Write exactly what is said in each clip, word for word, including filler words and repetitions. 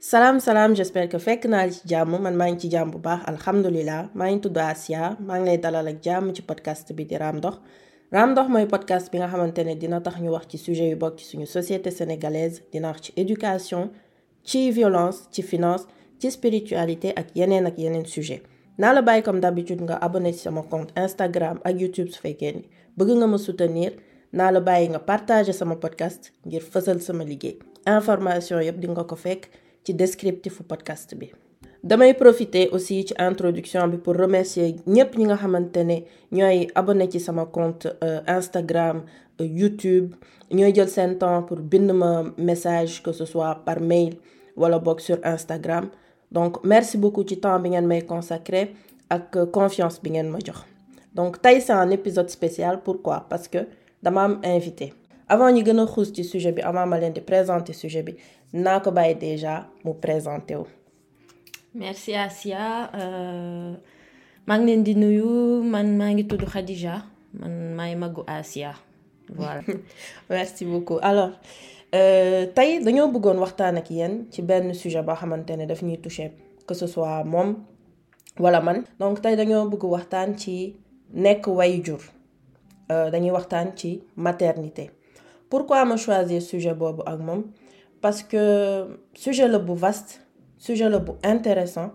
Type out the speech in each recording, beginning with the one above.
Salam salam, j'espère que fekk naa li ci jàmm man maa ngi ci jàmm bu baax alhamdulilah maa ngi tudd Asia maa ngi lay dalal ak jàmm ci podcast bi di Raam Dox Raam Dox mooy podcast bi nga xamante ne dina tax ñu wax ci sujet yu bokk ci suñu société sénégalaise dina wax ci éducation ci violence ci finance ci spiritualité ak yeneen ak yeneen sujet naa la bàyyi comme d'habitude nga abonné ci sama compte Instagram ak YouTube su fekkee ni bëgg nga ma soutenir naa la bàyyi nga partager sama podcast ngir fësal sama liggéey information yëpp di nga ko fekk ci descriptif podcast bi. damay profiter aussi ci introduction bi pour remercier ñëpp ñi nga xamante ne ñooy abonné ci sama compte euh, Instagram euh, YouTube ñooy jël seen temps pour bind ma message que ce soit par mail wala boog sur Instagram donc merci beaucoup ci temps bi ngeen may consacrer ak euh, confiance bi ngeen ma jox. donc tey c'est un épisode spécial pourquoi parce que dama am invité. avant ñu gën a xuus ci sujet bi avant ma leen di présenter sujet bi naa ko bàyyi déjà mu présenté wu. merci Asia euh, maa ngi leen di nuyu man maa ngi tudd Khadija man maay magu Asia voilà. merci beaucoup alors euh, tey dañoo bëggoon waxtaan ak yéen ci benn sujet boo xamante ne daf ñuy toucher que ce soit moom wala man. donc tey dañoo bëgg waxtaan ci nekk waajur euh, dañuy waxtaan ci maternité. pourquoi ma choisir sujet boobu ak moom parce que sujet la bu vaste sujet la bu intéressant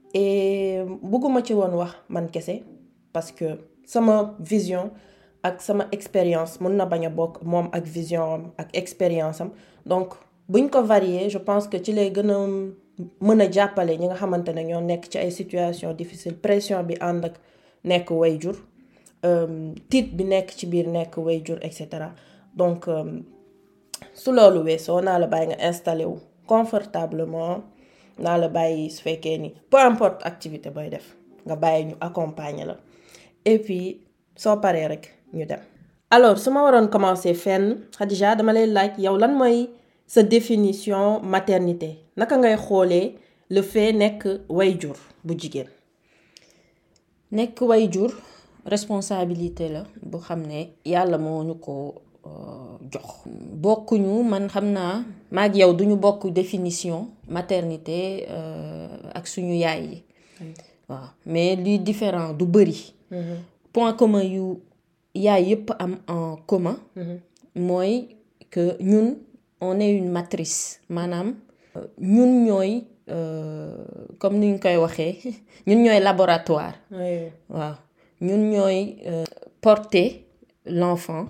et bëgguma ci woon wax man kese parce que sama vision ak sama expérience mën na bañ a bokk moom ak vision am ak expérience am donc buñ ko varier je pense que ci lay gën a mën a jàppale ñi nga xamante ne ñoo nekk ci ay situation difficile pression bi ànd ak nekk waajur tiit bi nekk ci biir nekk waajur et cetera. donc euh, su loolu weesoo naa la bàyyi nga installé wu confortablement naa la bàyyi su fekkee ni peu importe activité booy def nga bàyyi ñu accompagner la et puis soo paree rek ñu dem. alors su ma waroon commencer fenn Khadija dama lay laaj yow lan mooy sa définition maternité naka ngay xoolee le fait nekk waajur bu jigéen. nekk waajur responsabilité la bu xam ne yàlla moo ñu ko jox bokkuñu man xam naa maag yow duñu bokk définition maternité ak suñu yaay yi waaw mais li différent du bëri point commun yu yaay yëpp am en commun mooy que ñun on est une matrice maanaam ñun ñooy comme ni ñu koy waxee ñun ñooy laboratoire waaw ñun ñooy porter l'enfant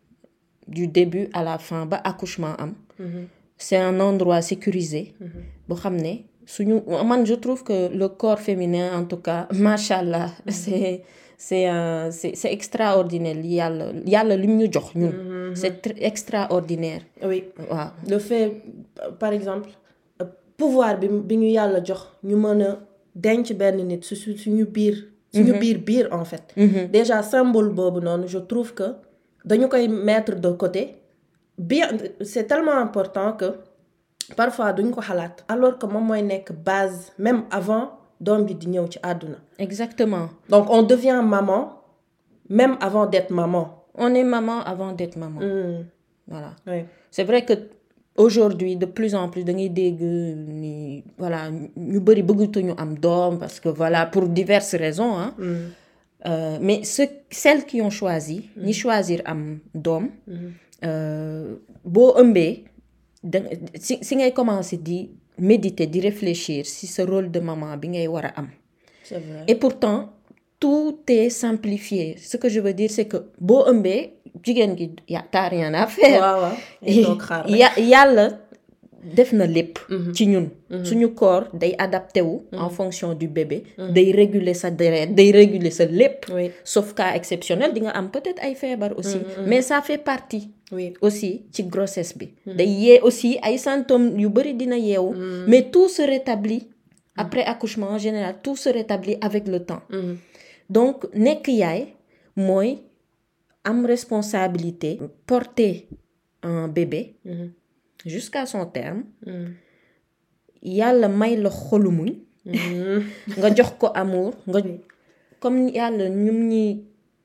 du début à la fin ba accouchement am mm-hmm. c'est un endroit sécurisé boo xam ne suñu man je trouve que le corps féminin en tout cas machallah mm-hmm. c'est c'est un c'est c'est extraordinaire li yàlla yàlla lim ñu jox ñun mm-hmm. c'est très extraordinaire. oui waaw le fait par exemple pouvoir bi bi ñu yàlla jox ñu mën a denc benn nit su suñu biir suñu mm-hmm. biir biir en fait mm-hmm. déjà symbole boobu noonu je trouve que dañu koy mettre de côté bien c'est tellement important que parfois duñ ko xalaat alors que moom mooy nekk base même avant doom bi di ñëw ci àdduna. exactement. donc on devient maman même avant d'être maman. on est maman avant d'être maman. Mmh. voilà oui. c'est vrai que aujourd'hui de plus en plus da ngay dégg ni voilà ñu bari bëggatuñu am doom parce que voilà pour diverses raisons hein. Mmh. Euh, mais ceux, celles qui ont choisi ñi mmh. choisir am doom mmh. euh, boo ëmbee da si si ngay commencer di méditer di réfléchir si ce rôle de maman bi ngay war a am. C'est vrai. Et pourtant tout est simplifié ce que je veux dire c'est que boo ëmbee jigéen gi ya t'as rien à faire. waaw waaw ya yàlla def na lépp ci ñun suñu corps day adapté wu en fonction du bébé day réguler sa deret day réguler sa lépp oui. sauf cas exceptionnel di nga am peut-être ay feebar aussi mm-hmm. mais ça fait partie oui. aussi ci grossesse bi mm-hmm. day yee aussi ay symptômes yu bari dina yeewu mm-hmm. mais tout se rétablit après mm-hmm. accouchement en général tout se rétablit avec le temps mm-hmm. donc nekk yaay mooy am responsabilité porter un bébé mm-hmm. jusqu'à son terme yàlla may la xolu muñ nga jox ko amour nga comme yàlla ñum ñi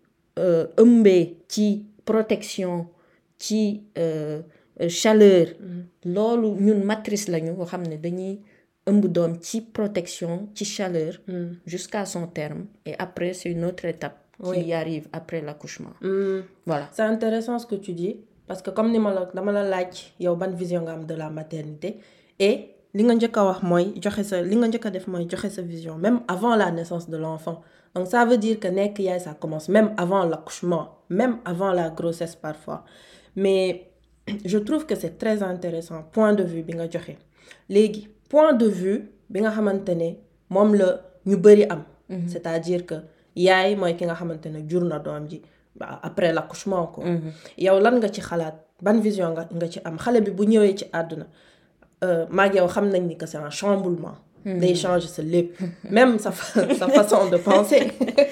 ëmbee ci protection ci chaleur loolu ñun matrice lañu nga xam ne dañuy ëmb doom ci protection ci chaleur jusqu'à son terme et après c'est une autre étape qui oui. arrive après l'accouchement mm. voilà c'est intéressant ce que tu dis parce que comme ni ma la dama la laaj yow ban vision nga am de la maternité et li nga njëkk a wax mooy joxe sa li nga njëkk a def mooy joxe sa vision même avant la naissance de l'enfant donc ça veut dire que nekk yaay ça commence même avant l'accouchement même avant la grossesse parfois mais je trouve que c'est très intéressant point de vue bi nga joxe léegi point de vue bi nga xamante ne moom la ñu bari am mm-hmm. c'est-à-dire que yaay mooy ki nga xamante ne jur na doom ji après l'accouchement ko yow lan nga ci xalaat ban vision nga nga ci am xale bi bu ñëwee ci àdduna maag yow xam nañ ni que c'est un chamboulement day changer sa lépp même sa sa façon de penser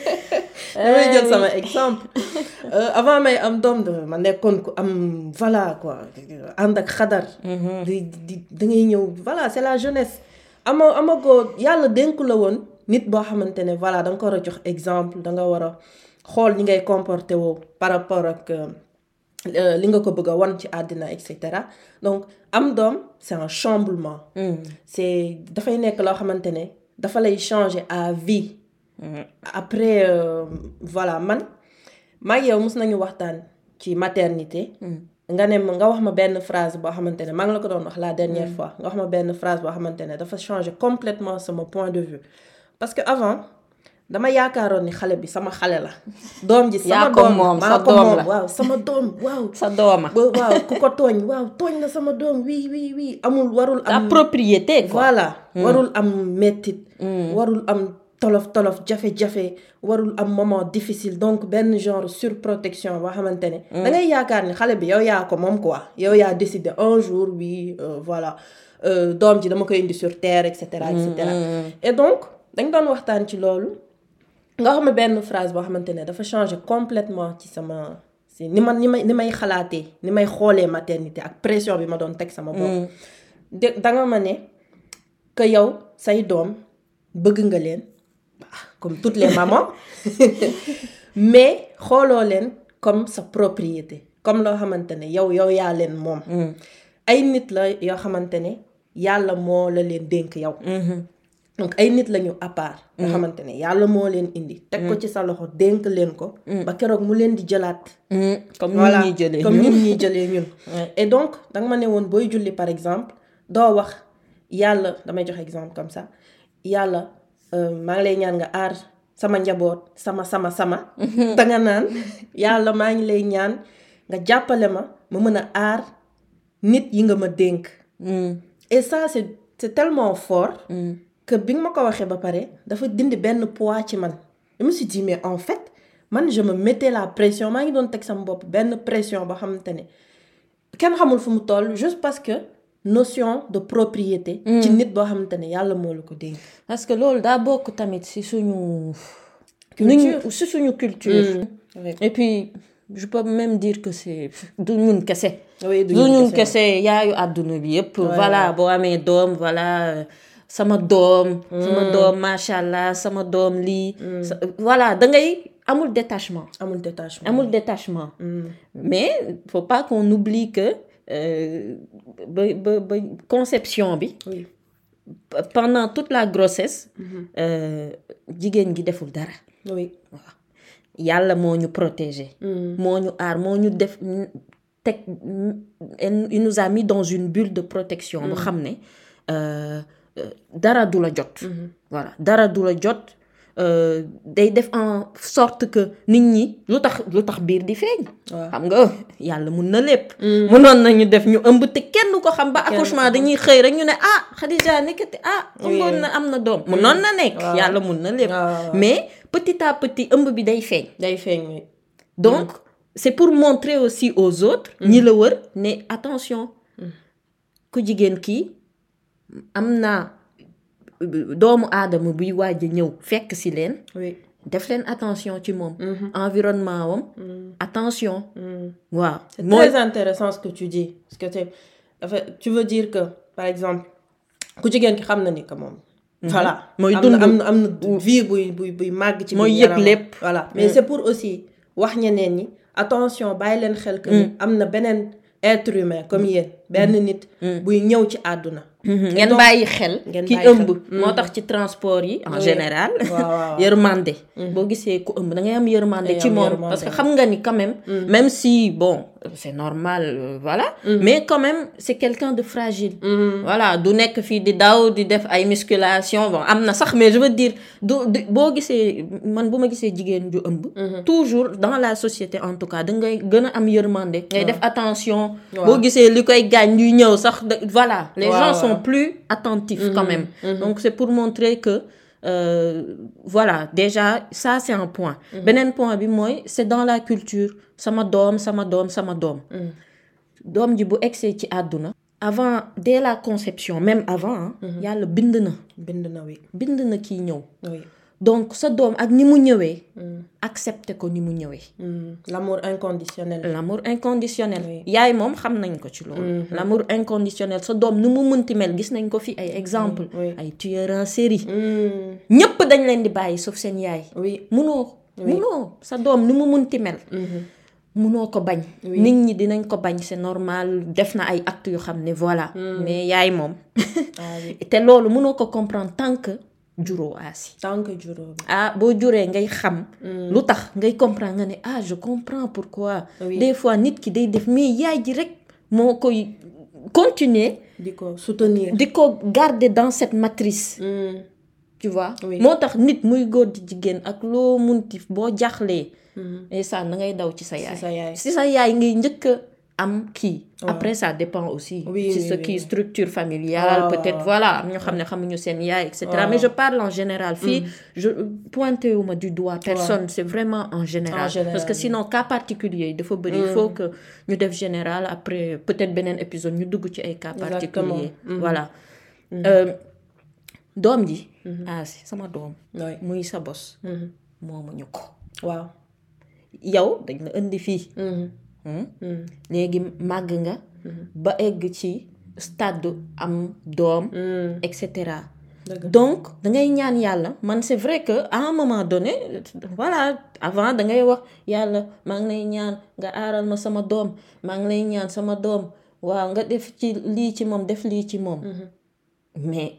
damay jël sama exemple avant may am doom de ma nekkoon ku am voilà quoi ànd ak xadar di di da ngay ñëw voilà c'est la jeunesse ama amagoo yàlla dénku la woon nit boo xamante ne voilà da nga ko war a jox exemple da nga war a xool ñi ngay comporté woo par rapport ak li nga ko bëgg a wan ci àddina et cetera donc am doom c'est un chamboulement mm. c'est dafay nekk loo xamante ne dafa lay changer à vie mm. après euh, voilà man maa ngi yow mos nañu waxtaan ci maternité mm. nga ne nga wax ma benn phrase boo xamante ne maa ngi la ko doon wax la dernière mm. fois nga wax ma benn phrase boo xamante ne dafa changer complètement sama point de vue parce que avant dama yaakaaroon ni xale bi sama xale la doom ji sama doom maa ko moom waaw sama doom waaw sa dooma waaw ku ko tooñ waaw tooñ na sama doom oui oui oui amul warul am propriété quoi voilà mm. warul am mettit mm. warul am tolof tolof jafe-jafe warul am moment difficile donc benn genre surprotection boo xamante ne mm. da ngay yaakaar ni xale bi yow yaa ko moom quoi yow yaa décidé un jour oui euh, voilà euh, doom ji dama koy indi sur terre et cetera et cetera mm. et donc dañ doon waxtaan ci loolu nga xam ne benn phrase boo xamante ne dafa changer complètement ci sama si ni man ni may ni may xalaatee ni may xoolee maternité ak pression bi ma doon teg sama bopp de danga ma ne que yow say doom bëgg nga leen comme toutes les mamans mais xooloo leen comme sa propriété comme loo xamante ne yow yow yaa leen moom ay nit la yoo xamante ne yàlla moo la leen dénk yow donc ay nit lañu à part nga xamante ne yàlla moo leen indi teg ko ci sa loxo dénk leen ko ba keroog mu leen di jëlaat comme ñun ñuy jëlee comme ñun ñuy jëlee ñun et donc danga ma ne woon booy julli par exemple doo wax yàlla damay joxe exemple comme ça yàlla maa ngi lay ñaan nga aar sama njaboot sama sama sama danga naan yàlla maa ngi lay ñaan nga jàppale ma ma mën a aar nit yi nga ma dénk et ça c'est c'est tellement fort que bi nga ma ko waxee ba pare dafa dindi benn poids ci man je me suis dit mais en fait man je me mettais la pression maa ngi doon teg sama bopp benn pression boo xamante ne kenn xamul fu mu toll juste parce que notion de propriété ci nit boo xamante ne yàlla moo la ko dénk parce que loolu daa bokk tamit ci suñu culture ci suñu culture mmh. et puis je peux même dire que c'est du ñun kese oui du ñun kese yaayu àdduna bi yépp voilà boo amee doom voilà sama doom sama doom macha allah sama doom lii voilà da ngay amul détachement amul détachement amul détachement mm. mais faut pas qu'on oublie que ba ba ba conception bi oui. pendant toute la grossesse jigéen gi deful dara oui waaw yàlla moo ñu protéger moo ñu aar moo ñu def teg il nous a mis dans une bulle de protection boo xam ne dara du la jot voilà dara du la jot day def en sorte que nit ñi lu tax lu tax biir di feeñ xam nga yàlla mun na lépp mënoon nañu def ñu ëmb te kenn ko xam ba accouchement dañuy xëy rek ñu ne ah Khadija nekkati ah ëmboon na am na doom mënoon na nekk yàlla mun na lépp mais petit à petit ëmb bi day feeñ day feeñ donc c'est pour montrer aussi aux autres ñi la wër ne attention ku jigéen kii am naa doomu aadama buy waaj a ñëw fekk ci leen def leen attention ci moom environnement wam attention waaw c'est très intéressant ce que tu dis parce que tu tu veux dire que par exemple ku jigéen ki xam na ni que moom voilà mooy dund am na am na vie buy buy buy màgg ci mooy yëg lépp voilà mais c'est pour aussi wax ñeneen ñi attention bàyyi leen xel que ni am na beneen être humain comme yéen benn nit buy ñëw ci àdduna ngeen bàyyi xel ki ëmb moo tax ci transport yi en général yërmande boo gisee ku ëmb da ngay am yërmande ci moom parce que xam nga ni quand même même si bon c'est normal euh, voilà mm. mais quand même c'est quelqu'un de fragile mm. voilà du nekk fii di daw di def ay musculation bon am na sax mais je veux dire du boo gisee man bu ma gisee jigéen ju ëmb mm-hmm. toujours dans la société en tout cas da ngay gën a am yërmande ngay def attention boo gisee li koy gaañ ñuy ñëw sax voilà les wow, gens wow. sont plus attentifs mm-hmm. quand même mm-hmm. donc c'est pour montrer que euh, voilà déjà ça c'est un point mm-hmm. beneen point bi mooy c'est dans la culture sama doom sama doom sama doom mm. doom ji bu egsee ci àdduna avant dès la conception même avant mm-hmm. yàlla bind na bind na oui bind na kii ñëw oui donc sa doom ak ni mu ñëwee mm. accepter ko ni mu ñëwee mm. l'amour inconditionnel l'amour inconditionnel oui. yaay moom xam nañ ko ci loolu mm-hmm. l'amour inconditionnel sa doom ni mu mënti mel gis nañ ko fi ay exemple mm. oui. ay tueurs en série ñépp mm. dañ leen di bàyyi sauf seen yaay oui munoo oui. munoo sa doom ni mu mënti mel mm-hmm. munoo ko bañ oui. nit ñi dinañ ko bañ c'est normal def na ay actes yu xam ne voilà mm. mais yaay moom ah, oui. te loolu munoo ko comprendre tant que juróo aasi tant que juróo ah boo juree ngay xam mm. lu tax ngay comprendre nga ne ah je comprends pourquoi oui. des fois nit ki day def mais yaay ji rek moo koy continuer di ko soutenir di ko garder dans cette matrice mm. tu vois oui. moo tax nit muy góor di jigéen ak loo munti boo jaxlee et ça na ngay daw ci sa yaay ci sa yaay ngay njëkk am kii ouais. après ça dépend aussi oui, ci oui, ce oui, qui oui. structure familiale oh. peut-être voilà am ñoo xam ne xamuñu seen yaay et cetera oh. mais je parle en général fii mm. je pointé wu ma du doigt personne ouais. c'est vraiment en général. en général parce que sinon cas particulier yi dafa bëri mm. il faut que ñu def général après peut-être beneen épisode ñu dugg ci ay cas particulier mm. voilà mm. Euh, doom ji mm-hmm. ah si sama doom oui. muy sa bos mm-hmm. moomuñu ko waaw yow dañ la indi fii mm-hmm. Hmm? Mm. léegi màgg nga mm-hmm. ba egg ci stade am doom mm. et cetera donc dangay ñaan yàlla man c'est vrai que à un moment donné voilà avant dangay wax yàlla maa ngi lay ñaan nga aaral ma sama doom maa ngi lay ñaan sama doom waaw nga def ci lii ci moom def lii ci moom mm-hmm. mais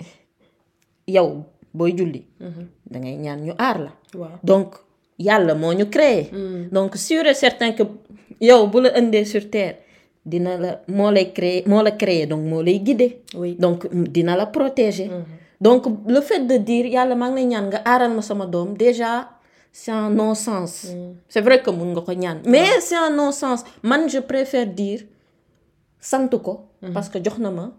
yow booy julli mm-hmm. dangay ñaan ñu aar la wow. donc yàlla moo ñu créé mm. donc sûr et certain que yow bu la indee sur terre dina la moo lay créer moo la créer donc moo lay guider oui. donc dina la protéger mm-hmm. donc le fait de dire yàlla maa ngi lay ñaan nga aaral ma sama doom déjà c'est un non-sens mm. c'est vrai que mun nga ko ñaan mais ouais. c'est un non-sens man je préfère dire sant ko mm-hmm. parce que jox na ma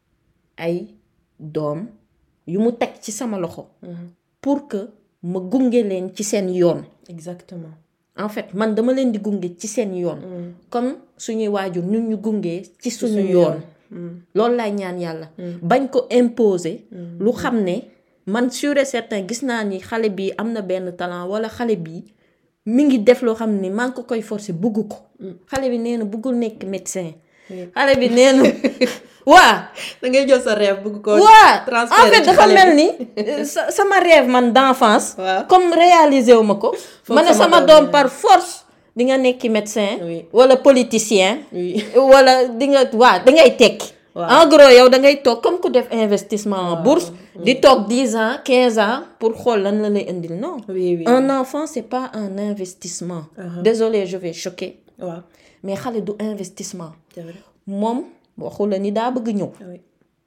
ay doom yu mu teg ci sama loxo mm-hmm. pour que ma gunge leen ci seen yoon exactement en fait man dama leen di gunge ci seen yoon mm. comme suñuy waajur ñun ñu gunge ci suñu yoon mm. loolu laay ñaan yàlla mm. bañ ko imposer mm. lu xam ne man sûr et certain gis naa ni xale bi am na benn talent wala xale bi mi ngi def loo xam ne maa ngi ko koy forcer bugg ko mm. xale bi nee na buggul nekk médecin mm. xale bi nee na waa da ngay jël sa rêve bëgg ko waa transférer en fait dafa mel ni sama rêve man d'enfance wow. comme réaliser wu ma ko ma ne sama doom par force di nga nekki médecin oui. wala politicien oui. wala di nga waa da ngay tekki wow. en gros yow da ngay toog comme ku def investissement en wow. bourse oui. di toog dix ans quinze ans pour xool lan la lay indil non oui, oui, un oui. enfant c'est pas un investissement uh-huh. désolé je vais choquer wow. mais xale du investissement c'est vrai. moom waxu la ni daa bëgg ñëw oui.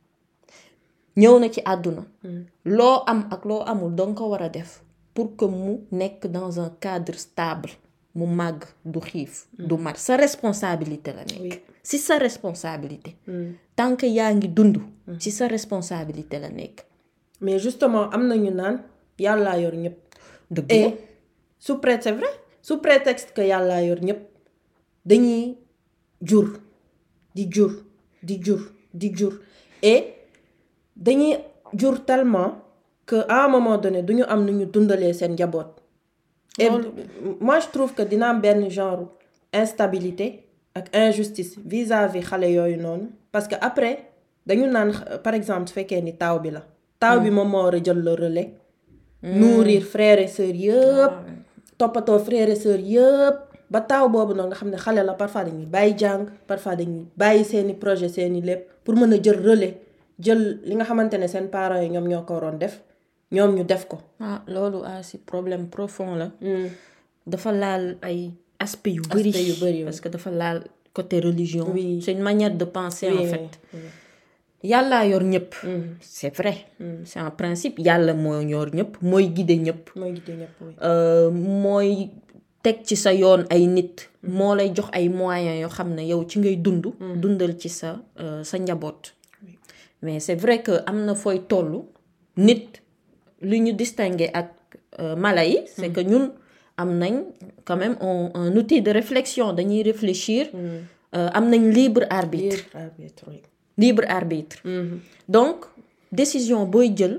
ñëw na ci àdduna mm. loo am ak loo amul danga ko war a def pour que mu nekk dans un cadre stable mu màgg du xiif mm. du mar sa responsabilité la nekk oui. si sa responsabilité mm. tant que yaa ngi dund mm. si sa responsabilité la nekk mais justement am nañu naan yàllaa yor ñëpp dëgg et sous prétexte c'est vrai sous prétexte que yàllaa yor ñëpp dañuy jur di jur di jur di jur et dañuy jur tellement que à un moment donné duñu am nu ñu dundalee seen njaboot et moi je trouve que dina am benn genre instabilité ak injustice vis-à-vis xale yooyu noonu parce que après dañu naan par exemple su fekkee ni taaw bi la taaw bi moom moo war a jël le relais nourrir frères et sœurs yëpp toppatoo frères et sœurs yëpp ba taaw boobu noonu nga xam ne xale la parfois dañuy bàyyi jàng parfois dañuy bàyyi seeni projet seeni lépp pour mën a jël relais jël li nga xamante ne seen parents yi ñoom ñoo ko waroon def ñoom ñu def ko. ah loolu ah si problème profond la. dafa laal ay aspects yu bëri. aspects yu bëri parce que dafa laal côté religion. oui c'est une manière de penser oui, en fait. oui. yàllaa yor ñëpp. c'est vrai. c'est un principe yàlla moo yor ñëpp mooy guider ñëpp. mooy guider ñëpp oui. mooy teg ci sa yoon ay nit. moo lay jox ay moyens yoo xam ne yow ci ngay dund. dundal ci sa sa njaboot. mais c'est vrai que am na fooy tollu nit lu ñu distinguer ak mala yi. c'est que ñun am nañ quand même un, un outil de réflexion dañuy réfléchir. am nañ libre arbitre. libre arbitre oui. libre arbitre. Mm-hmm. donc décision booy jël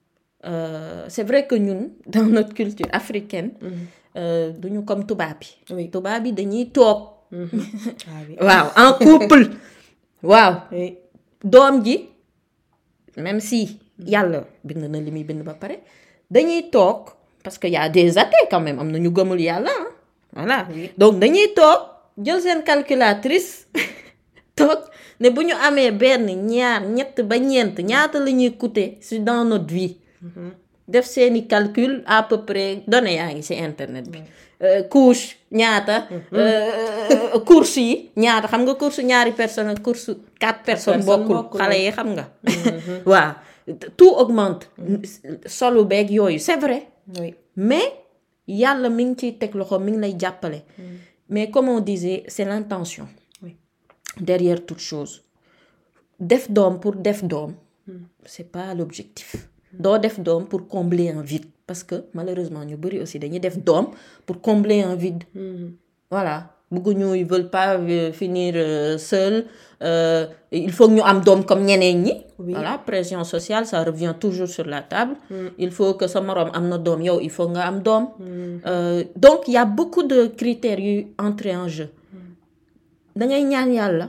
euh, c'est vrai que ñun dans notre culture africaine. Mm-hmm. euh, duñu comme tubaab bi. oui tubaab bi dañuy toog. Mm-hmm. ah, oui. waaw en couple. waaw oui. doom ji même si yàlla bind na li muy bind ba pare dañuy toog parce que y a des athées quand même am na ñu gëmul yàlla ah voilà oui. donc dañuy toog jël seen calculatrice toog. ne bu ñu amee benn ñaar ñett ba ñeent ñaata la ñuy coûter si dans notre vie. Mm-hmm. def seeni calcul à peu près données yaa ngi ci internet bi. Mm-hmm. euh, couche ñaata. Mm-hmm. euh, course yi ñaata xam nga course ñaari personnes ak course quatre personnes. bokkul xale yi xam nga. Mm-hmm. waaw tout augmente. Mm-hmm. solu beeg yooyu c'est vrai. oui mais yàlla mi ngi ciy teg loxo mi ngi lay jàppale. Mm-hmm. mais comme on disait c'est l'intention. derrière toute chose def doom pour def doom c'est pas l'objectif doo def doom pour combler un vide parce que malheureusement ñu bari aussi dañuy def doom pour combler un vide. Mm-hmm. voilà bëgguñu ils veulent pas finir euh, seul euh, il faut que ñu am doom comme ñeneen ñi. Oui. voilà pression sociale ça revient toujours sur la table. Mm. il faut que sa moroom am na doom yow il faut nga am doom. Mm. Euh, donc il y a beaucoup de critères yu entrer en jeu. dangay ñaan yàlla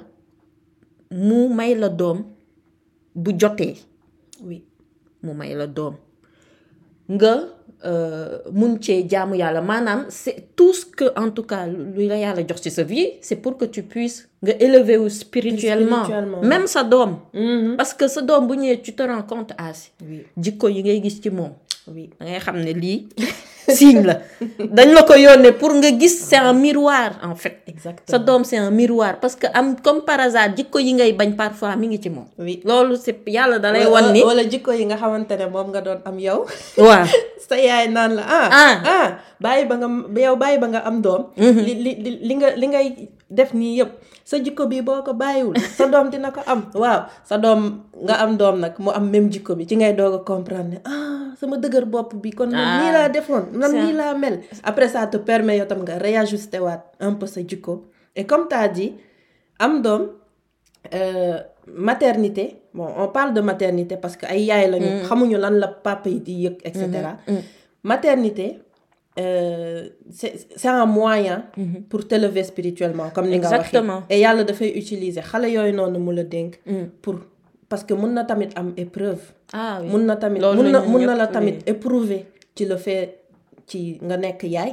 mu may la doom bu jotee. oui mu may la doom nga mun cee jaamu yàlla maanaam c'est tout ce que en tout cas lu la yàlla jox ci sa vie c'est pour que tu puisses nga élever wu spirituellement, spirituellement même sa doom. Mm-hmm. parce que sa doom bu ñëwee tu te rends compte asi. oui jikko yi ngay gis ci moom. oui dangay xam ne lii. signe la dañ la ko yónnee pour nga gis c'est un miroir en fait. exactement sa doom c'est un miroir parce que am comme par hasard jikko yi ngay bañ parfois mi ngi ci moom. oui loolu c'est yàlla da lay wan ni. wala jikko yi nga xamante ne moom nga doon am yow. waaw sa yaay naan la ah. ah ah bàyyi ba nga yow bàyyi ba nga am doom. li li li nga li ngay def nii yëpp sa jikko bi boo ko bàyyiwul sa doom dina ko am. waaw sa doom nga am doom nag mu am même jikko bi ci ngay doog a comprendre ne ah sama dëgër bopp bi kon man nii laa defoon man nii laa mel. après ça te permet yow tam nga réajuster waat un peu sa jikko et comme t'as dit am doom euh, maternité bon on parle de maternité parce que ay yaay lañu. Mm. xamuñu lan la papa yi di yëg et cetera. Mm-hmm. Mm. maternité euh, c'est c'est un moyen. Mm-hmm. pour t'élever spirituellement comme ni nga waxee. exactement et yàlla dafay utiliser xale yooyu noonu mu la dénk. Mm. pour parce que mun na tamit am épreuve. ah oui mun na tamit mun na mun na la tamit éprouver ci le fait ci nga nekk yaay.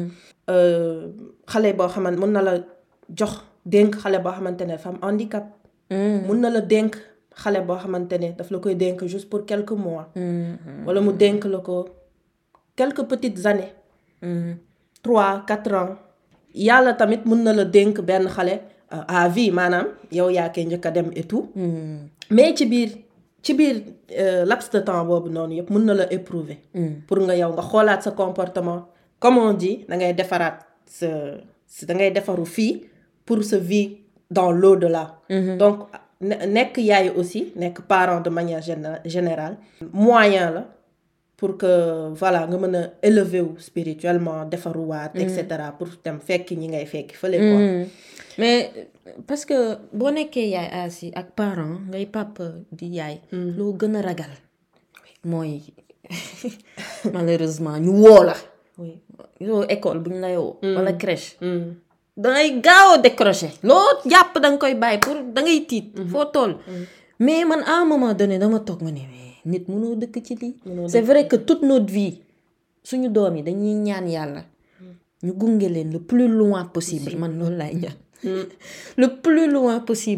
xale boo xamante mun na la jox dénk xale boo xamante ne dafa am handicap. mun na la dénk xale boo xamante ne daf la koy dénk juste pour quelques mois. wala mu dénk la ko quelques petites années. trois quatre ans. yàlla tamit mun na la dénk benn xale à vie maanaam yow yaa koy njëkk a dem et tout. mais ci biir ci biir laps de temps boobu noonu yëpp mun na la éprouver. pour nga yow nga xoolaat sa comportement comme on dit da ngay defaraat sa da ngay defaru fii pour sa vie dans l'au-delà. donc nekk yaay aussi nekk parent de manière générale moyen la pour que voilà nga mën a élever wu spirituellement defaruwaat et cetera pour dem fekk ñi ngay fekk fële quoi. mais parce que boo nekkee yaay asi ak parent ngay papa di yaay. loo gën a ragal mooy malheureusement ñu woo la. oui yow école bu ñu lay woo. wala crèche. dangay gaaw a décrocher. loo jàpp da nga koy bàyyi pour da ngay tiit. foo toll. mais man à un moment donné dama toog ma ne nit mënoo dëkk ci lii. c'est vrai que toute notre vie suñu doom yi dañuy ñaan yàlla. ñu gunge leen le plus loin possible man loolu laay ñaan. le plus loin possible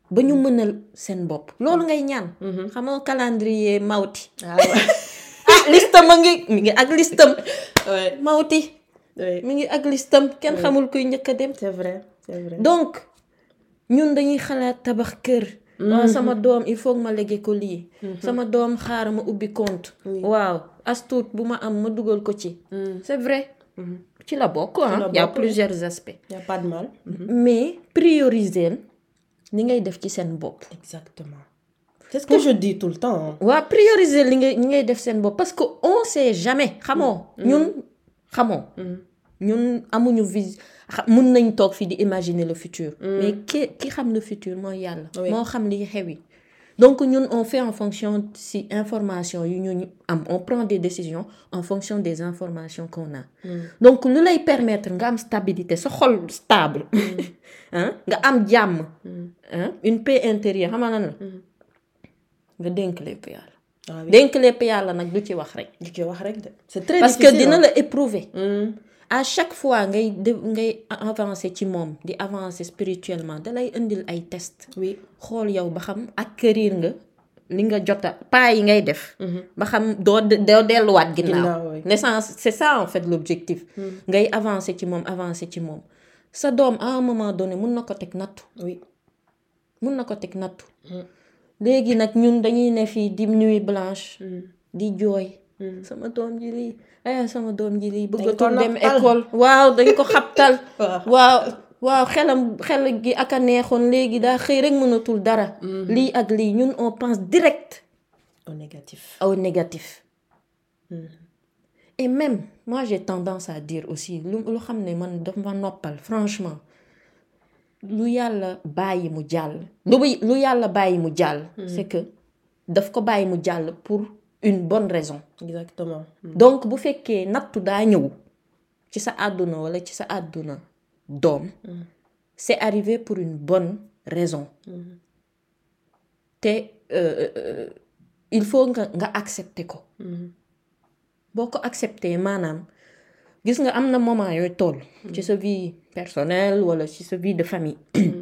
ba ñu mënal seen bopp loolu ngay ñaan xamoo calendrier Mawti ah ouais. ah listam a ngi mi ngi ak listam Ouais. Mawti Ouais. mi ngi ak listam kenn xamul kuy njëkk a dem c'est vrai c'est vrai. donc ñun dañuy xalaat tabax kër waaw sama doom il faut que ma légué ko lii sama doom xaar ma ubbi compte waaw as tuut bu ma am ma dugal ko ci c'est vrai ci la bokk ah y a plusieurs aspects y a pas de mal. mais prioriser li ngay def ci seen bopp exactement c'est ce que je dis tout le temps. waaw prioriser li ngay li ngay def seen bopp parce que on sait jamais xamoo ñun xamoo ñun amuñu vis mun nañ toog fii di imaginer le futur mais ki ki xam le futur mooy yàlla moo xam li xew yi donc ñun on fait en fonction si information yu ñu am on prend des décisions en fonction des informations qu'on a donc lu lay permettre nga am stabilité sa xol stable hein nga am jàmm hein une paix intérieure xam nga lan la nga dénk lépp yàlla dénk lépp yàlla nag du ci wax rek du ci wax rek de c'est très parce difficile que dina hein. la éprouver à chaque fois ngay de ngay avancer ci moom di avancer spirituellement da lay indil ay test oui xool yow ba xam acquérir nga li nga jota pas yi ngay def ba xam doo doo delluwaat ginnaaw l'essence c'est ça en fait l'objectif ngay avancer ci moom avancer ci moom sa doom à un moment donné mun na ko teg nattu oui mun na ko teg nattu léegi nag ñun dañuy ne fii di nuit blanche di jooy sama doom ji lii ay sama doom ji lii bëggatul dem école waaw dañ ko xabtal waaw waaw xelam xel gi ak a neexoon léegi daa xëy rek mënatul dara lii ak lii ñun on pense direct au négatif au négatif et même moi j'ai tendance à dire aussi lu lu xam ne man daf ma noppal franchement lu yàlla bàyyi mu jàll lu lu yàlla bàyyi mu jàll c'est que daf ko bàyyi mu jàll pour une bonne raison exactement donc bu fekkee nattu daa ñëw ci sa àdduna wala ci sa àdduna doom c'est arrivé pour une bonne raison te euh, euh, il faut nga nga accepter ko boo ko accepter maanaam gis nga am na moment yooyu toll ci sa vie personnelle wala ci sa vie de famille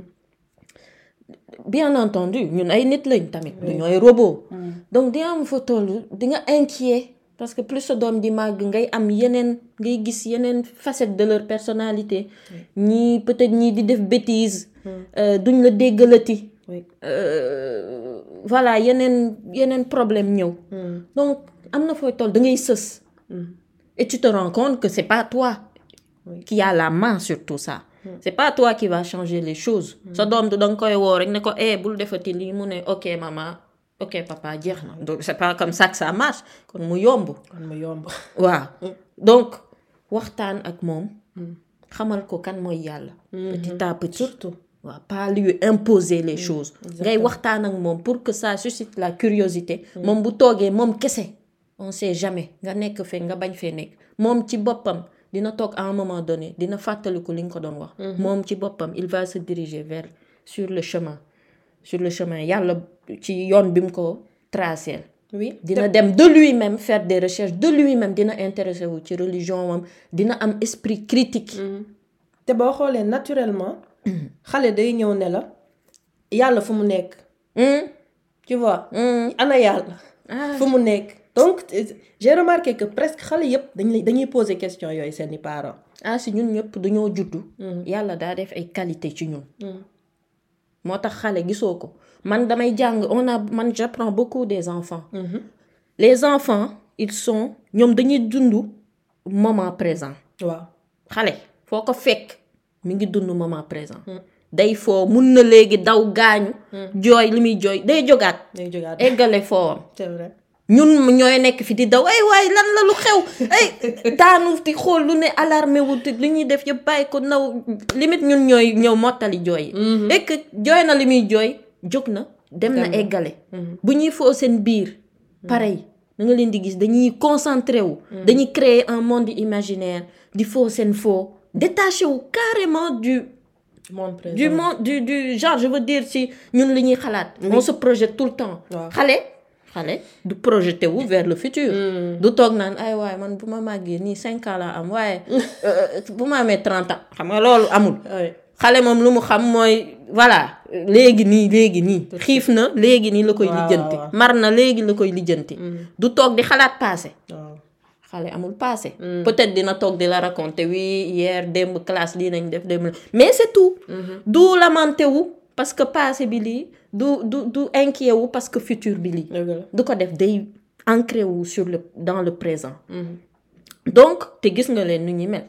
bien entendu ñun ay nit lañ tamit du ñooy robot donc di am fa toll di nga inquiet parce que plus sa doom di màgg ngay am yeneen ngay gis yeneen facette de leur personnalité ñii peut-être ñii di def bêtise duñ la déggalati voilà yeneen yeneen problème ñëw donc am na fooy toll da ngay sës et tu te rends compte que c'est pas toi qui a la main sur tout ça c'est pas toi qui va changer les choses sa doom du danga koy woo rek ne ko eh bul defati lii mu ne ok maman ok papa jeex na donc c'est pas comme ça que ça marche kon mu yomb kon mu yomb waaw donc waxtaan ak moom xamal ko kan mooy yàlla petit à petit surtout waaw pas lui imposer les choses ngay waxtaan ak moom pour que ça suscite la curiosité moom bu toogee moom kese on sait jamais nga nekk fee nga bañ fee nekk moom ci boppam dina toog à un moment donné dina fàttaliku li nga ko doon wax moom ci boppam il va se diriger vers sur le chemin sur le chemin yàlla ci yoon bi mu ko tracé oui dina dem de lui-même faire des recherches de lui-même dina intéressé wu ci religion moom dina am esprit critique te boo xoolee naturellement xale day ñëw ne la yàlla fu mu nekk tu vois ana yàlla fu mu nekk donc j'ai remarqué que presque xale yëpp dañuy dañuy poser question yooyu seeni parents ah si ñun ñëpp dañoo juddu yàlla daa def ay qualité ci ñun moo tax xale gisoo ko man damay jàng on a man j'apprends beaucoup des enfants les enfants ils sont ñoom dañuy dund moment présent waaw xale foo ko fekk mi ngi dund moment présent day foo mun na léegi daw gaañu jooy li muy jooy day jógaat day jógaat eggale foowam c'est vrai ñun ñooy nekk fi di daw ay waay lan la lu xew ay daanu di xool lu ne alarmé wu li ñuy def yëpp bàyyi ko naw limite ñun ñooy ñëw mottali jooy yi et que jooy na li muy jooy jóg na dem na eggale bu ñuy foo seen biir pareil da nga leen di gis dañuy concentré wu dañuy créer un monde imaginaire di foo seen foo détaché wu carrément du monde présent du monde du du genre je veux dire si ñun li ñuy xalaat on se projette tout le temps xale xale du projeté wu vers le futur du toog naan ay waaye man bu ma màggee nii cinq ans la am waaye bu ma amee trente ans xam nga loolu amul xale moom lu mu xam mooy voilà léegi nii léegi nii xiif na léegi nii la koy lijjanti mar na léegi la koy lijjanti du toog di xalaat passé xale amul passé peut-être dina toog di la raconter oui hier démb classe lii nañ def démb mais c'est tout du lamenté wu parce que passé bi lii du du du inquiet wu parce que futur bi lii du ko def day ancré wu sur le dans le présent donc te gis nga leen nu ñuy mel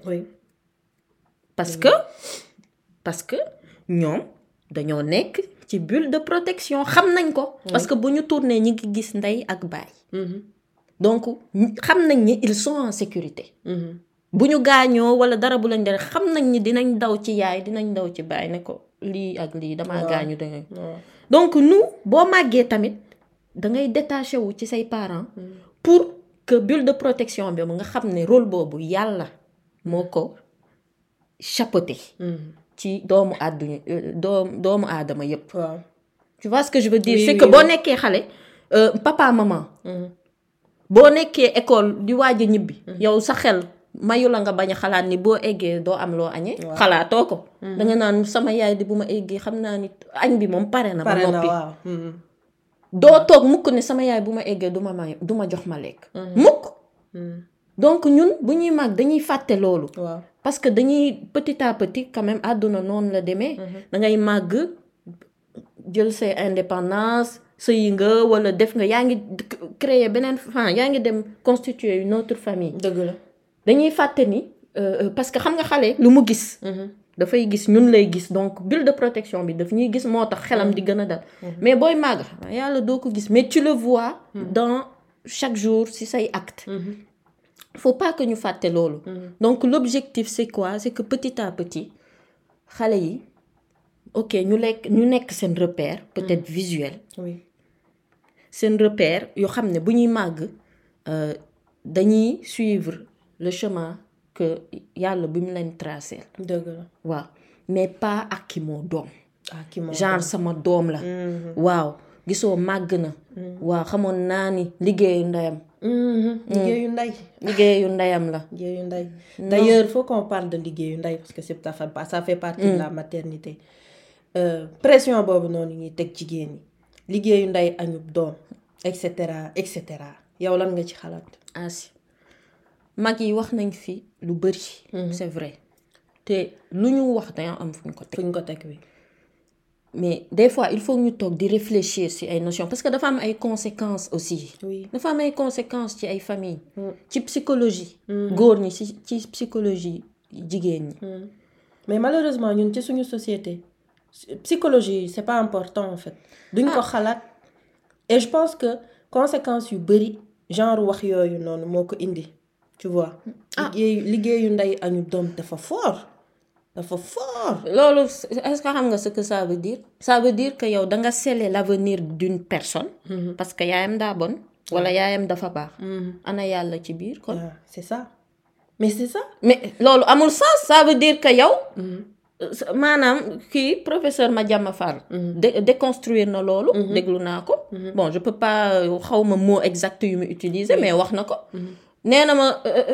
parce que parce que ñoom dañoo nekk ci bulle de protection xam nañ ko parce que bu ñu tourné ñi ngi gis ndey ak baay donc xam nañ ni ils sont en sécurité bu ñu gaañoo wala dara bu lañ def xam nañ ni dinañ daw ci yaay dinañ daw ci baay ne ko lii ak lii damaa gaañu dangay donc nous boo màggee tamit dangay détaché wu ci say parents pour que bulle de protection bi nga xam ne rôle boobu yàlla moo ko chapeauté ci doomu àdduna doom doomu aadama yépp tu vois ce que je veux dire c'est que boo nekkee xale papa maman boo nekkee école di waaj a ñibbi yow sa xel mayu la nga bañ a xalaat ni boo eggee doo am loo añee xalaatoo ko danga naan sama yaay di bu ma eggee xam naa ni añ bi moom pare na ba noppi doo toog mukk ne sama yaay bu ma eggee du ma may du ma jox ma lekk mukk donc ñun bu ñuy màgg dañuy fàtte loolu parce que dañuy petit à petit quand même àdduna noonu la demee dangay màgg jël say indépendance sëyi nga wala def nga yaa ngi créer beneen fan yaa ngi dem constituer une autre famille dëgg la dañuy fàtte ni parce que xam nga xale lu mu gis dafay gis ñun lay gis donc bulle de protection bi daf ñuy gis moo tax xelam di gën a dal mais booy màgg yàlla doo ko gis mais tu le vois dans chaque jour ci say acte faut pas que ñu fàtte loolu donc l'objectif c'est quoi c'est que petit à petit xale yi ok ñu lekk ñu nekk seen repère peut-être visuel seen repère yoo xam ne bu ñuy màgg dañuy suivre le chemin que yàlla bi mu leen tracé dëgg la waaw mais pas ak ki moo doom genre sama doom la waaw gisoo màgg na waaw xamoon naa ni liggéeyu ndeyam liggéeyu ndey liggéeyu ndeyam la liggéeyu ndey d'ailleurs faut qu'on parle de liggéeyu ndey parce que c'est ça fait partie de la maternité pression boobu noonu ñuy teg jigéen ñi liggéeyu ndey añub doom et cetera et cetera yow lan nga ci xalaat asi mag yi wax nañ fi lu bari c'est vrai te lu ñu wax dañoo am fu ñu ko teg fu ñu ko teg wi mais des fois il faut ñu toog di réfléchir ci ay notions parce que dafa am ay conséquences aussi dafa am ay conséquences ci ay famille ci psychologie góor ñi ci ci psychologie jigéen ñi mais malheureusement ñun ci suñu société psychologie c'est pas important en fait duñ ko xalaat et je pense que conséquences yu bari genre wax yooyu noonu moo ko indi tu vois liggéeyu liggéeyu ndey añu doom dafa fort dafa fort loolu est-ce que xam nga ce que ça veut dire ça veut dire que yow danga sceller l'avenir d'une personne parce que yaayam daa bon wala yaayam dafa baax ana yàlla ci biir kon c'est ça mais c'est ça mais loolu amul sens ça veut dire que yow maanaam kii professeur Madiama Fall déconstruire na loolu déglu naa ko bon je peux pas xawma mot exact yu mu utiliser mais wax na ko nee na ma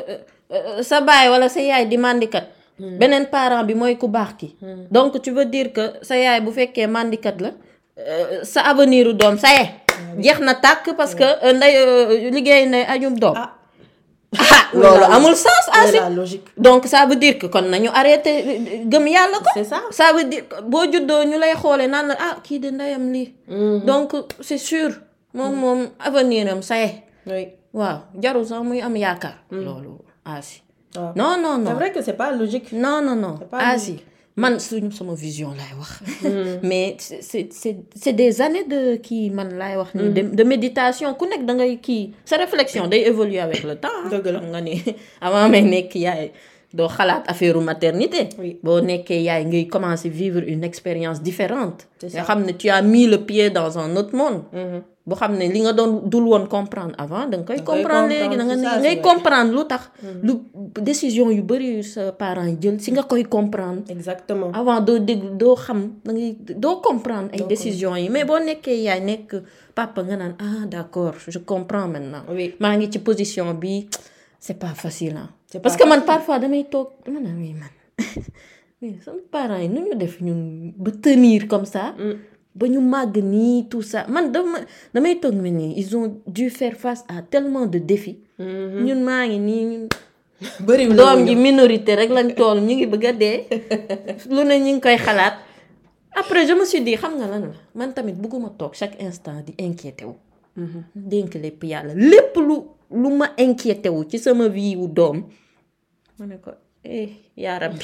sa baay wala sa yaay di mandikat beneen parent bi mooy ku baax ki donc tu veux dire que sa yaay bu fekkee mandikat la sa avenir u doom sa yee jeex na tàkk parce que nday liggéey nday añum doom ah loolu amul sens asi donc ça veut dire que kon nañu arrêté gëm yàlla ko c'est ça ça veut dire boo juddoo ñu lay xoolee naan la ah kii de ndeyam lii donc c'est sûr moom moom avenir am sa yee waaw jarul sax muy am yaakaar loolu asi waaw non non non c'est vrai que c'est pas logique non non non asi man suñu sama vision laay wax mais c'est c'est c'est des années de kii man laay wax ni de de méditation ku nekk da ngay kii sa réflexion day évoluer avec le temps dëgg la nga ni avant may nekk yaay doo xalaat affaire maternité boo nekkee yaay ngay commencer vivre une expérience différente nga xam ne tu as mis le pied dans un autre monde boo xam ne li nga doon dul woon comprendre avant da nga koy comprendre léegi da nga ngay comprendre lu tax lu décision yu bari yu sa parents yi jël si nga koy comprendre exactement avant doo dégg doo xam da ngay doo comprendre ay décisions yi mais boo nekkee yaay nekk papa nga naan ah d'accord je comprends maintenant maa ngi ci position bi c'est pas facile hein parce que man parfois damay toog dama naan oui man mais sama parents yi nu ñu def ñun ba tenir comme ça. ba ñu màgg nii tout ça man dama damay toog mel nii ils ont dû faire face à tellement de défis. ñun maa ngi nii. bëriwul doom ji minorité rek lañ toll ñu ngi bëgg a dee. lu ne ñu ngi koy xalaat. après je me suis dit xam nga lan la man tamit bëgguma toog chaque instant di inquiété wu. dénk lépp yàlla lépp lu lu ma inquiété wu ci sama vie wu doom. ma ne ko eh yaa rabbi.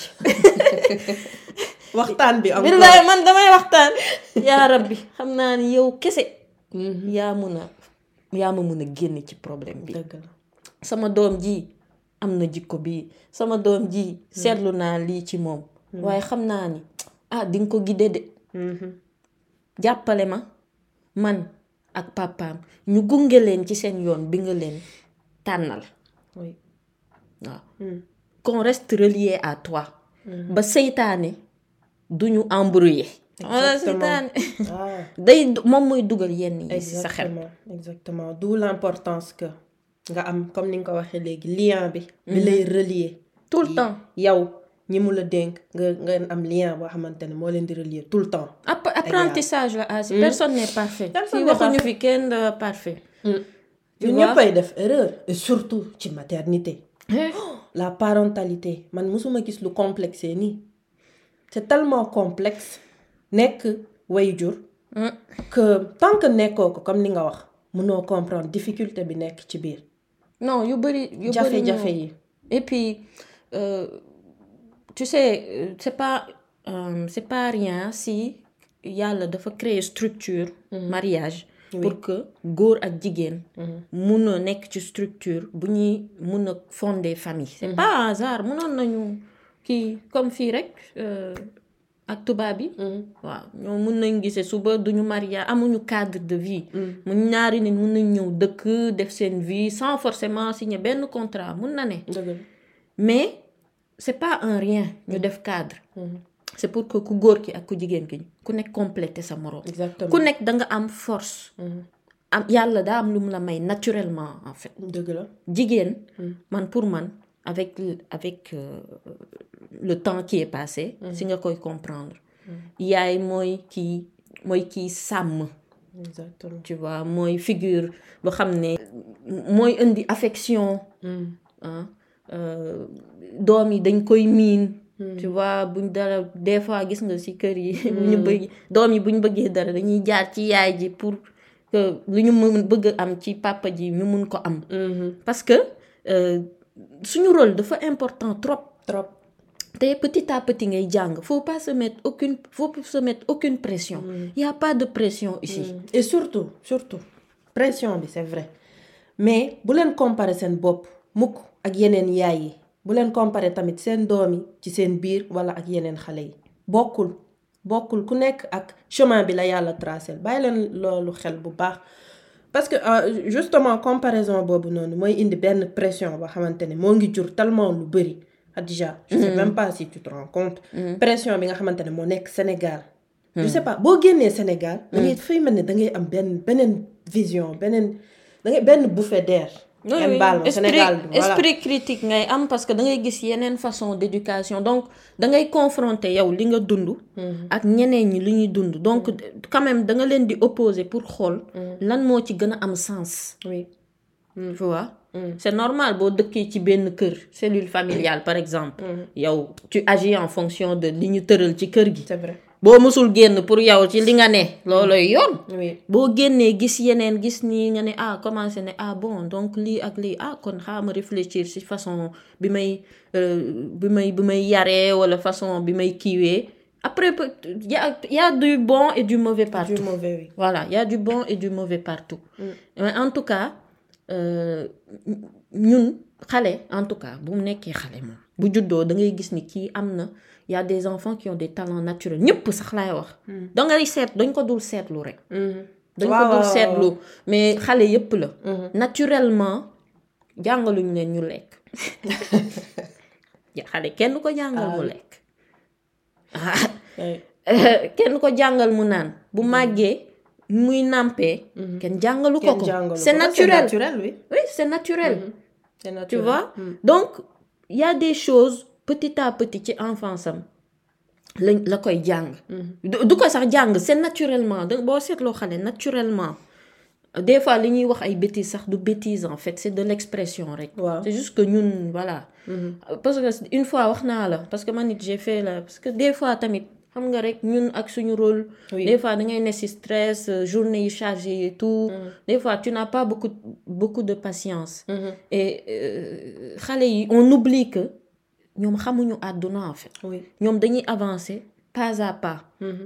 waxtaan bi am billaay man damay waxtaan. yaa rabbi xam naa ni yow kese. yaa mun a yaa ma mun a génne ci problème bi. dëgg la sama doom ji am na jikko bi sama doom ji seetlu naa lii ci moom. waaye xam naa ni ah di nga ko guider de. jàppale ma man ak papaam ñu gunge leen ci seen yoon bi nga leen tànnal. oui waaw. qu'on reste relié à toi. ba seytaane du ñu embrouiller. exactement day moom mooy dugal yenn yi ci sa xel. exactement exactement d'où l'importance que nga am comme ni nga ko waxee léegi lien bi. bi lay relier. tout le temps yow ñi mu la dénk nga nga am lien boo xamante ne moo leen di relier tout le temps. apprentissage la asi personne n'est parfait. fii waxuñu fi kenn parfait. ñun ñëppay def erreur et surtout ci maternité. la parentalité man mosuma gis lu complexe nii. c'est tellement complexe nekk waajur que tant que nekkoo ko comme ni nga wax mënoo comprendre difficulté bi nekk ci biir. non yu bëri yu bëri jafe-jafe yi. et puis euh, tu sais c'est pas euh, c'est pas rien si yàlla dafa créer structure. mariage. Oui. pour que góor ak jigéen. mun a nekk ci structure bu ñuy mun a fonder famille. c'est pas un hasard munoon nañu kii comme fii rek ak tubaab bi. waaw ñoo mun nañ gisee suba duñu marié amuñu cadre de vie. mu ñaari nit mun nañ ñëw dëkk def seen vie sans forcément signer benn contrat mun na ne. mais c'est pas un rien ñu def cadre. c'est pour que ku góor ki ak ku jigéen ki ku nekk compléter sa moroom. exactement ku nekk da nga am force. am yàlla daa am lu mu la may naturellement en fait. dëgg la jigéen. man pour man avec avec euh, le temps qui est passé. si nga koy comprendre. yaay mooy kii mooy kii sàmm. exactement tu vois mooy figure boo xam ne. mooy indi affection. ah doom yi dañ koy miin. tu vois buñ dara des fois gis nga ci kër yi. bu ñu bëgg doom yi bu ñu bëggee dara dañuy jaar ci yaay ji pour que lu ñu mën bëgg am ci papa ji ñu mun ko am. parce que suñu rôle dafa important trop. trop te petit à petit ngay jàng faut pas se mettre aucune faut pas se mettre aucune pression. il y a pas de pression ici. et surtout surtout pression bi c'est vrai mais bu leen comparer seen bopp mukk ak yeneen yaay yi. bu leen comparer tamit seen doom yi ci seen biir wala ak yeneen xale yi bokkul bokkul ku nekk ak chemin bi la yàlla tracé bàyyi leen loolu xel bu baax parce que euh, justement comparaison boobu noonu mooy indi benn pression boo xamante ne moo ngi jur tellement lu bëri Khadija je sais même pas si tu te rends compte pression bi nga xamante ne moo nekk Sénégal je sais pas boo génnee Sénégal da ngay fay mel ne da ngay am benn beneen vision beneen da ngay benn bouffée d'air. oui, oui. Sénégal esprit, voilà. esprit critique ngay am parce que da ngay gis yeneen façon d'éducation donc da ngay confronter yow li nga dund. ak ñeneen ñi li ñuy dund donc quand même da nga leen di opposer pour xool. lan moo ci gën a am sens. oui. tu vois. c'est normal boo dëkkee ci benn kër cellule familiale par exemple. yow tu agis en fonction de li ñu tëral ci kër gi. c'est vrai. boo mësul génn pour yow ci li nga ne looloy yoon. oui boo génnee gis yeneen gis nii nga ne ah commencé ne ah bon donc lii ak lii ah kon xaama réfléchir ci façon bi may bi may bi may yaree wala façon bi may kiiwee après y a y a du bon et du mauvais partout. du mauvais oui. voilà y a du bon et du mauvais partout. mais en tout cas ñun xale en tout cas bu mu nekkee xale moom bu juddoo da ngay gis ni kii am na. il y a des enfants qui ont des talents naturels ñëpp sax laay wax. da ngay seet dañ ko dul seetlu rek. dañ ko dul seetlu mais xale yëpp la. naturellement jàngaluñ leen ñu lekk. xale kenn ko jàngal mu lekk. kenn ko jàngal mu naan bu màggee muy nàmpee. kenn jàngalu ko ko c'est naturel c'est naturel oui. oui c'est naturel. c'est naturel tu vois donc il y a des choses. petit à petit ci enfance am la la koy jàng. du ko sax jàng c'est naturellement da boo seetloo xale naturellement des fois li ñuy wax ay bêtises sax du bêtise en fait c'est de l'expression rek. waaw c'est juste que ñun voilà. parce que une fois wax naa la parce que man it j'ai fait la parce que des fois tamit xam nga rek ñun ak suñu rôle. Oui. des fois da ngay ne ci stress journée yi chargée et tout. des fois tu n'as pas beaucoup beaucoup de patience. et xale yi on oublie que ñoom xamuñu àdduna en fait. oui ñoom dañuy avancer pas à pas.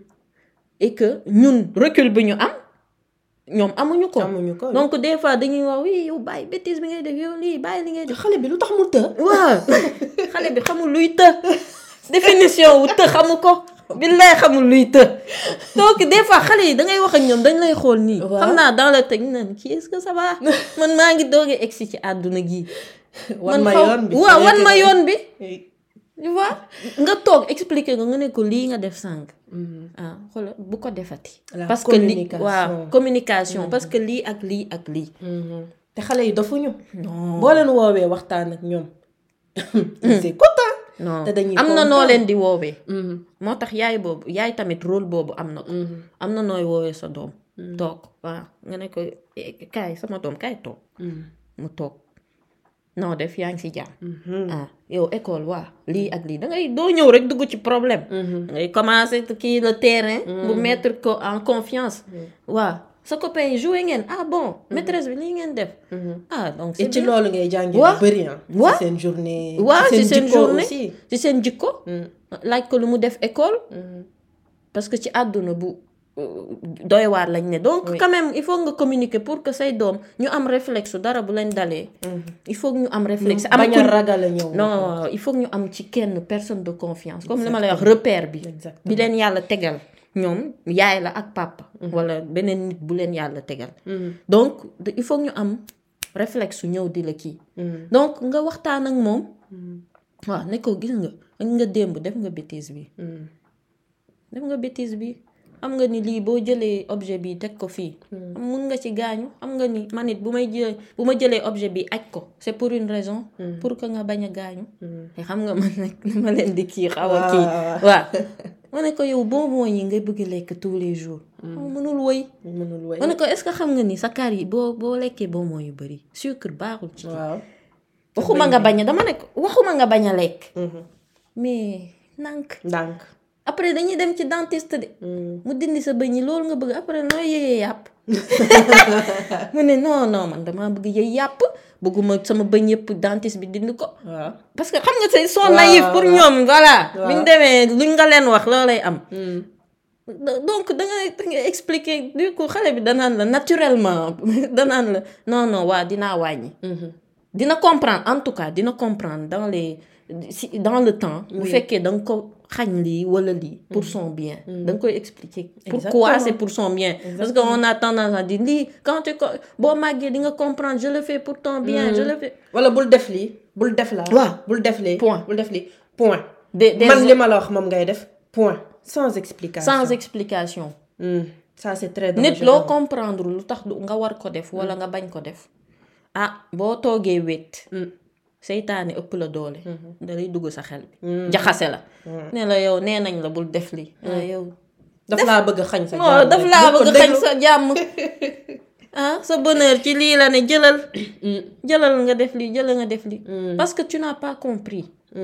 et que ñun recul bi ñu am ñoom amuñu ko. amuñu ko donc des fois dañuy wax oui yow bàyyi bêtise bi ngay def yow lii bàyyi li ngay def. xale bi lu tax mu të. waaw xale bi xamul luy të définition wu të xamu ko. billaay xamul luy të. donc des fois xale yi da ngay wax ak ñoom dañ lay xool nii. xam naa dans le teg naan kii est-ce que ça va man maa ngi doog a egsi ci àdduna gi. wan ma yoon bi waaw wan ma yoon bi. tu vois nga toog expliquer nga nga ne ko lii nga def sànq. ah xoolal bu ko defati. parce que lii waaw communication parce que lii ak lii ak lii. te xale yi dofuñu. non boo leen woowee waxtaan ak ñoom. c'est content. non te dañuy am na noo kontaan. leen di woowee. moo tax yaay boobu yaay tamit rôle boobu am na ko. am na nooy woowee sa doom. toog waaw nga ne ko eh, kaay sama doom kaay toog. mu toog non def yaa ngi si jàmm. ah yow école waa lii ak lii da ngay doo ñëw rek dugg ci problème. da ngay commencer kii le terrain. bu mettre ko en confiance. waa sa copain yi joué ngeen ah bon maîtresse bi lii ngeen def. ah donc c'est et ci bien. loolu ngay jàngee Waaw. lu bëri ah. Waaw. ci seen journée. waaw ci seen jikko journée aussi. ci seen jikko. laaj ko lu mu def école. parce que ci àdduna bu doy waar lañ ne donc Oui. quand même il faut nga communiquer pour que say doom ñu am réflexe dara bu leen dalee. il faut que ñu am réflexe. am bañ ku a ragal a ñëw. non il faut que ñu am ci kenn personne de confiance comme li ma lay wax repère bi. Exactement. bi leen yàlla tegal ñoom yaay la ak papa. wala beneen nit bu leen yàlla tegal. donc de- il faut que ñu am réflexe su ñëw di la kii. donc nga waxtaan ak moom. waaw ne ko gis nga nga démb def nga bêtise bi. def nga bêtise bi xam nga ni lii boo jëlee objet bi teg ko fii. mun nga ci gaañu xam nga ni man it bu may jëlee bu ma jëlee objet bi aj ko c'est pour une raison. pour que nga bañ a gaañu. te xam nga man nag dama leen di kii xaw a kii. waaw ma ne ko yow bonbon yi ngay bëgg lekk tous les jours. mënul woy. mënul woy. ma ne ko est-ce que xam nga ni sa kar yi boo boo lekkee bonbon yu bëri sucre baaxul ci. waaw. waxuma nga bañ a dama ne ko waxuma nga bañ a lekk. mais nank ndànk. après dañuy dem ci dentiste de. mu dindi sa bëñ yi loolu nga bëgg après nooy yëyee yàpp. mu ne non non man damaa bëgg yëy yàpp bëgguma sama bëñ yëpp dentiste bi dindi ko. waaw. parce que xam nga c'est sont Waaw, naïf pour waaw. ñoom voilà. Waaw. bu ñu demee luñ nga leen wax loolay am. donc da ngay da ngay expliquer du coup xale bi danaan la naturellement danaan la non non waa dinaa wàññi. dina comprendre en tout cas dina comprendre dans les si dans le temps. bu fekkee da nga ko xañ lii wala lii. pour son bien. da nga koy expliquer. pourquoi Exactement. c'est pour son bien. parce que on a tendance à dire lii quand tu ko boo màggee di nga comprendre je le fais pour ton bien. je le fais. wala bul def lii bul def laa. waaw. bul def lii. Point. bul def lii point. des des man li ma la wax moom ngay def point. sans explication. sans explication. Hmm. ça c'est très nit dangereux. loo comprendre lu tax du nga war ko def wala nga bañ ko def. ah boo toogee wét. seytaane ëpp la doole. da lay dugg sa xel bi. jaxase la. ne la yow nee nañ la bul def lii. ah yow. daf laa bëgg a xañ sa non jàmm daf rek. laa bu ko bëgg xañ déglu. sa jàmm. ah sa bonheur ci lii la ne jëlal. jëlal nga def lii jëlal nga def lii. parce que tu n'as pas compris.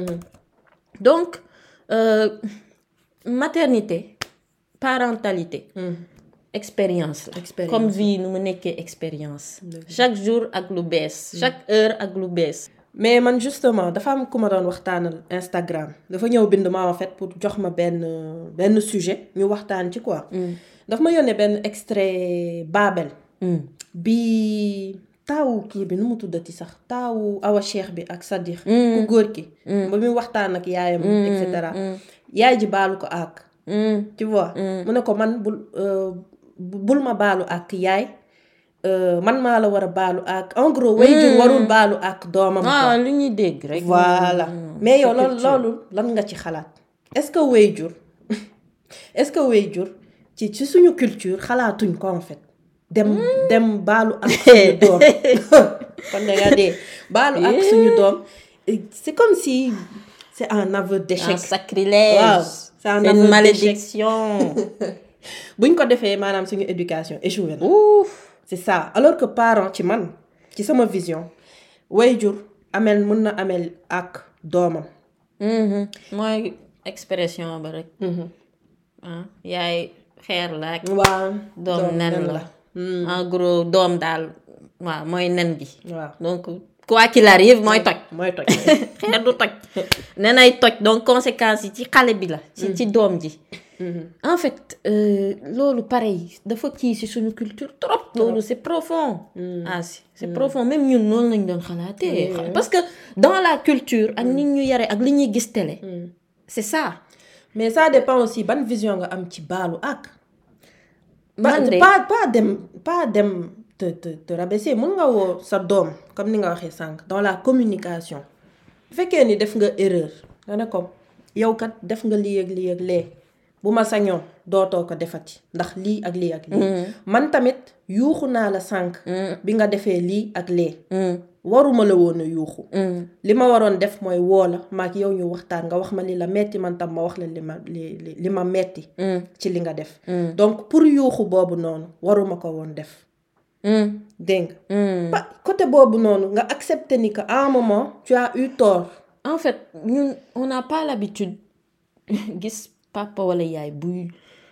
donc euh, maternité parentalité. expérience la. Expérience. comme vie nu mu nekkee expérience. chaque jour ak lu bees. chaque heure ak lu bees. mais man justement dafa am ku ma doon waxtaanal Instagram dafa ñëw bind ma en fait pour jox ma benn benn sujet ñu waxtaan ci quoi. dafa ma yónnee benn extrait Babel. bi taawu kii bi nu mu tuddati sax taawu Awa Cheikh bi ak Sadikh. ku góor ki. ba muy waxtaan ak yaayam. et cetera yaay ji baalu ko ak. tu vois. mu ne ko man bul bul ma baalu ak yaay. man maa la war a baalu ak en gros. waajur warul baalu ak doomam. ah lu ñuy dégg rek. voilà mais yow loolu loolu lan nga ci xalaat. est-ce que waajur est-ce que waajur ci ci suñu culture xalaatuñ ko en fait. dem dem baalu ak suñu doom kon da nga dee baalu ak suñu doom c'est comme si c'est un aveu d'échec. un sacrilège. waaw c'est un c'est une aveu d'échec. malédiction. buñ ko defee maanaam suñu éducation échoué na. Ouf. c'est ça alors que parent ci man ci sama vision waajur amel mën na amel ak doomam. Mhm. mooy expression ba rek. ah yaay xeer la ak waaw doom nen la. en gros doom daal waaw mooy nen gi. waaw donc quoi qu'il arrive mooy toj. mooy toj. xeer du toj. nenay toj donc conséquences yi ci xale bi la. ci ci doom ji. en fait euh, loolu pareil dafa kii ci suñu culture trop. loolu c'est profond. ah si c'est profond même ñun noonu lañ doon xalaatee. parce que dans la culture ak nit ñu yare ak li ñuy gis télé. c'est ça. mais ça dépend aussi ban vision nga am ci baalu ak. man de pas pas dem pas dem te te te rabaisser mën nga woo sa doom comme ni nga waxee sànq dans la communication. bu fekkee ni def nga erreur nga ne ko yow kat def nga lii ak lii ak lee bu ma sañoon dootoo ko defati ndax lii ak lii ak lii. man tamit yuuxu naa la sànq. bi nga defee lii ak lee. waruma la woon a yuuxu. li ma waroon def mooy woo la maak yow ñu waxtaan nga wax ma li la metti man tam ma wax la li ma li li ma metti ci li nga def. donc pour yuuxu boobu noonu waruma ko woon def. dégg nga. côté boobu noonu nga accepter ni que à un moment tu as eu tort. en fait ñun on n'a pas l'habitude gis papa wala yaay buy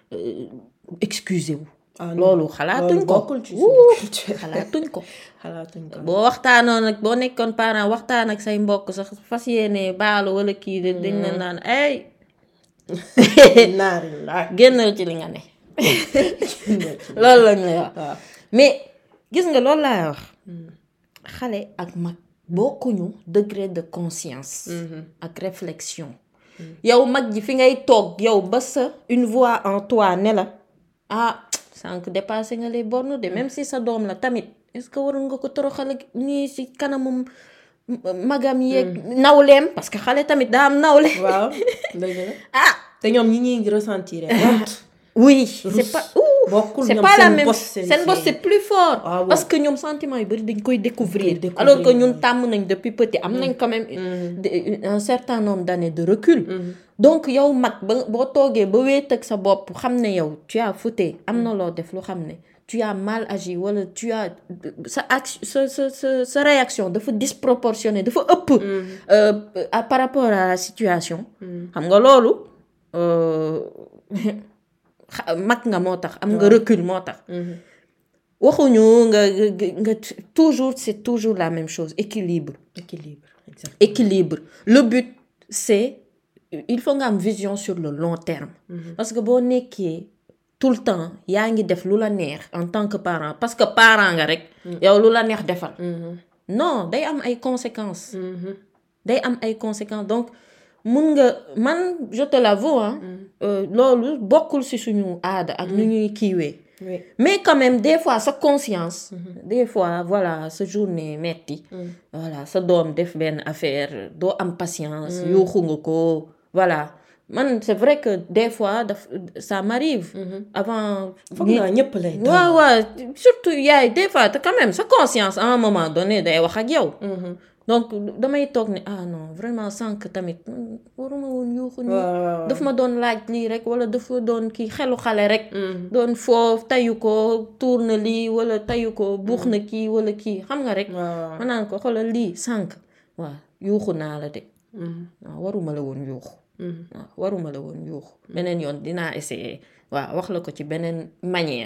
excuser wu. loolu xalaatuñ ko xalaatuñ ko. xalaatuñ ko boo waxtaanoon nag boo nekkoon parent waxtaan ak say mbokk sax fas yéene baalu wala kii de dañ la naan ay. naari la génnal ci li nga ne. loolu lañ lay wax. mais gis nga loolu laay wax. xale ak mag bokkuñu degré de conscience. ak réflexion. yow mag ji fi ngay toog yow ba sa une voix en toi ne la ah sànq dépassé nga les bornes de même si sa doom la tamit est-ce que waroon nga ko toroxal ak nii si kanamum magam yeeg nawleem parce que xale tamit daa am nawle. waaw dëgg la ah te ñoom ñi ñuy ressentir. oui c'est pas bokkul c'est ñoom pas la seen même bos seen bos c'est plus fort. Ah bon. parce que ñoom sentiments yu bari dañ koy découvrir. découvrir, alors que ñun ouais. tàmm nañ depuis petit am nañ quand même de- un certain nombre d'années de recul. donc yow mag ba boo toogee ba wéet ak sa bopp xam ne yow tu as fauté am na loo def lu xam ne tu as mal agi wala tu as sa action sa sa sa sa réaction dafa disproportionnée dafa ëpp. euh, à- par rapport à la situation. xam nga loolu. euh, xa- mag nga moo tax am nga recul moo tax. waxuñu nga nga nga toujours c'est toujours la même chose équilibre. équilibre exact. équilibre le but c'est il faut nga am vision sur le long terme. parce que boo nekkee tout le temps yaa ngi def lu la neex en tant que parent parce que parent nga rek. yow lu la neex defal. non day am ay conséquences. day am ay conséquences donc mun nga man je te l'avoue hein. euh, loolu bokkul ci suñu aada ak nu ñuy kiiwee. oui. mais quand même des fois sa conscience. des fois voilà sa journée metti voilà sa doom def benn affaire doo am patience. yuuxu nga ko voilà man c'est vrai que des fois daf ça m'arrive. avant. foog naa ñëpp lay dal. waaw waaw surtout yaay des fois te quand même sa conscience à un moment donné day wax ak yow. donc damay toog ne ah non vraiment sànq tamit waruma woon yuuxu nii. waaw daf ma doon laaj lii rek wala dafa doon kii xelu xale rek. doon foofu tayu ko tuur na lii wala tayu ko buux na kii wala kii xam nga rek. waaw ma naan ko xoolal lii sànq waaw yuuxu naa la de. waaw waruma la woon yuuxu. waaw waruma la woon yuuxu beneen yoon dinaa essayer waaw wax la ko ci beneen manière.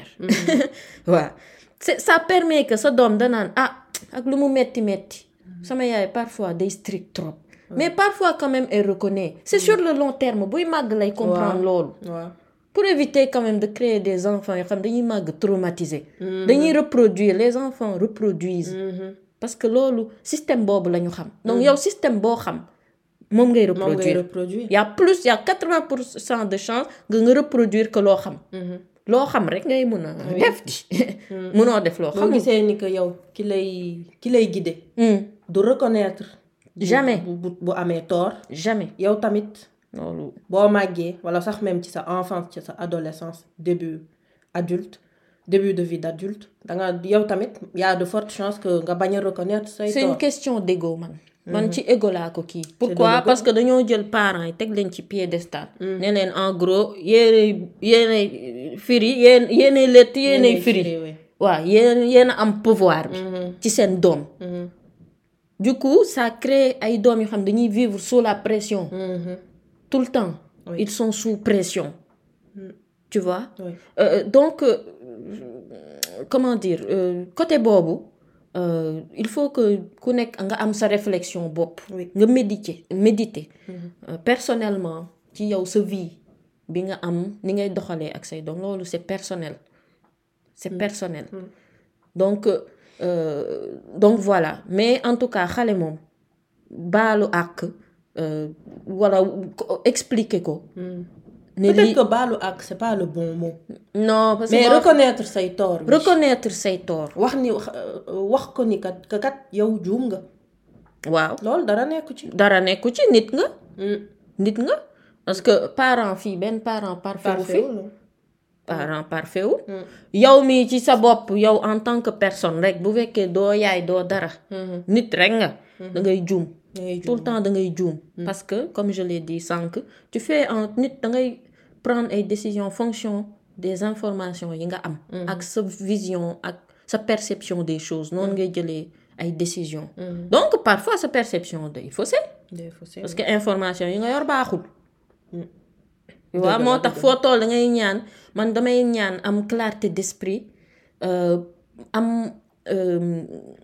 waaw c'est ça permet que sa doom danaan ah ak lu mu metti metti sama yaay parfois day strict trop. mais parfois quand même elle reconnaît. c'est sur le long terme buy màgg lay comprendre loolu. waaw pour éviter quand même de créer des enfants yoo xam dañuy màgg traumatisés. dañuy reproduire les enfants reproduisent. parce que loolu système boobu la ñu xam. donc yow système boo xam moom ngay moom ngay reproduire. reproduire. y a plus y a quatre-vingts pour cent de chance nga nga reproduire que loo xam. loo xam rek ngay mun a def di. munoo def loo boo xam. gisee ni que yow ki lay ki lay guider. du reconnaître. bu- Jamais. bu bu bu amee tort. jamais yow tamit loolu. boo màggee wala sax même ci sa enfance ci sa adolescence début adulte début de vie d'adulte da nga yow tamit y a de fortes chances que nga bañ a reconnaître say c'est une tort. question d'ego man man ci ego laa ko kii. pourquoi parce que dañoo jël parents yi teg leen ci piédestal. ne leen en gros yéenay yéenay firi yéen yéenay lett yéenay firi. waaw yéen yéen a am pouvoir bi. ci seen doom. du coup ça crée ay doom yoo xam dañuy vivre sous la pression. tout le temps. Oui. Ils sont sous pression. Tu vois. Oui. Euh, donc euh, comment dire euh, côté boobu. Euh, il faut que ku nekk nga am sa réflexion bopp. Oui. nga méditer méditer. Mm-hmm. Euh, personnellement ci yow sa vie bi nga am ni ngay doxalee ak say doom loolu c'est personnel. c'est mm-hmm. personnel. Mm-hmm. donc euh, donc voilà mais en tout cas xale moom baalu àq euh, wala expliquer ko. Mm. peut-être li... que baalu àq c'est pas le bon mot. non parce que mais reconnaître say tort. reconnaître say tort. wax ni wax ko ni kat kat yow juum nga. waaw loolu dara nekku ci. dara nekku ci nit nga. Mm. nit nga parce que parent fii benn parent parfait wu fi. parent parfait wu. Mm. yow mii ci sa bopp yow en tant que personne rek bu fekkee doo yaay doo dara. Mm-hmm. nit rek nga. Mm-hmm. da ngay juum. tout le temps da ngay juum. Mm. parce que comme je l'ai dit sànq tu fais en nit da ngay prendre ay décisions fonction des informations yi nga am. Mm. ak sa vision ak sa perception des choses noonu ngay jëlee ay décisions. Mm. donc parfois sa perception day faussé. day faussé parce que information yi nga yor baaxul. Mm. waaw moo tax foo toll da ngay ñaan man damay ñaan am clarté d'esprit euh, am euh,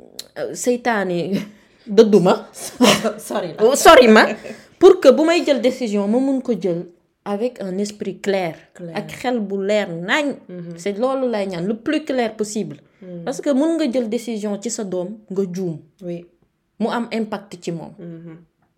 seytaane dëdduma sorry sorry ma pour que bu may jël décision ma mun ko jël avec un esprit clair. clair. ak xel bu leer nañ. Mm-hmm. c'est loolu lay ñaan le plus clair possible. Mm-hmm. parce que mun nga jël décision ci sa doom nga juum. oui mu am impact ci moom. Mm-hmm.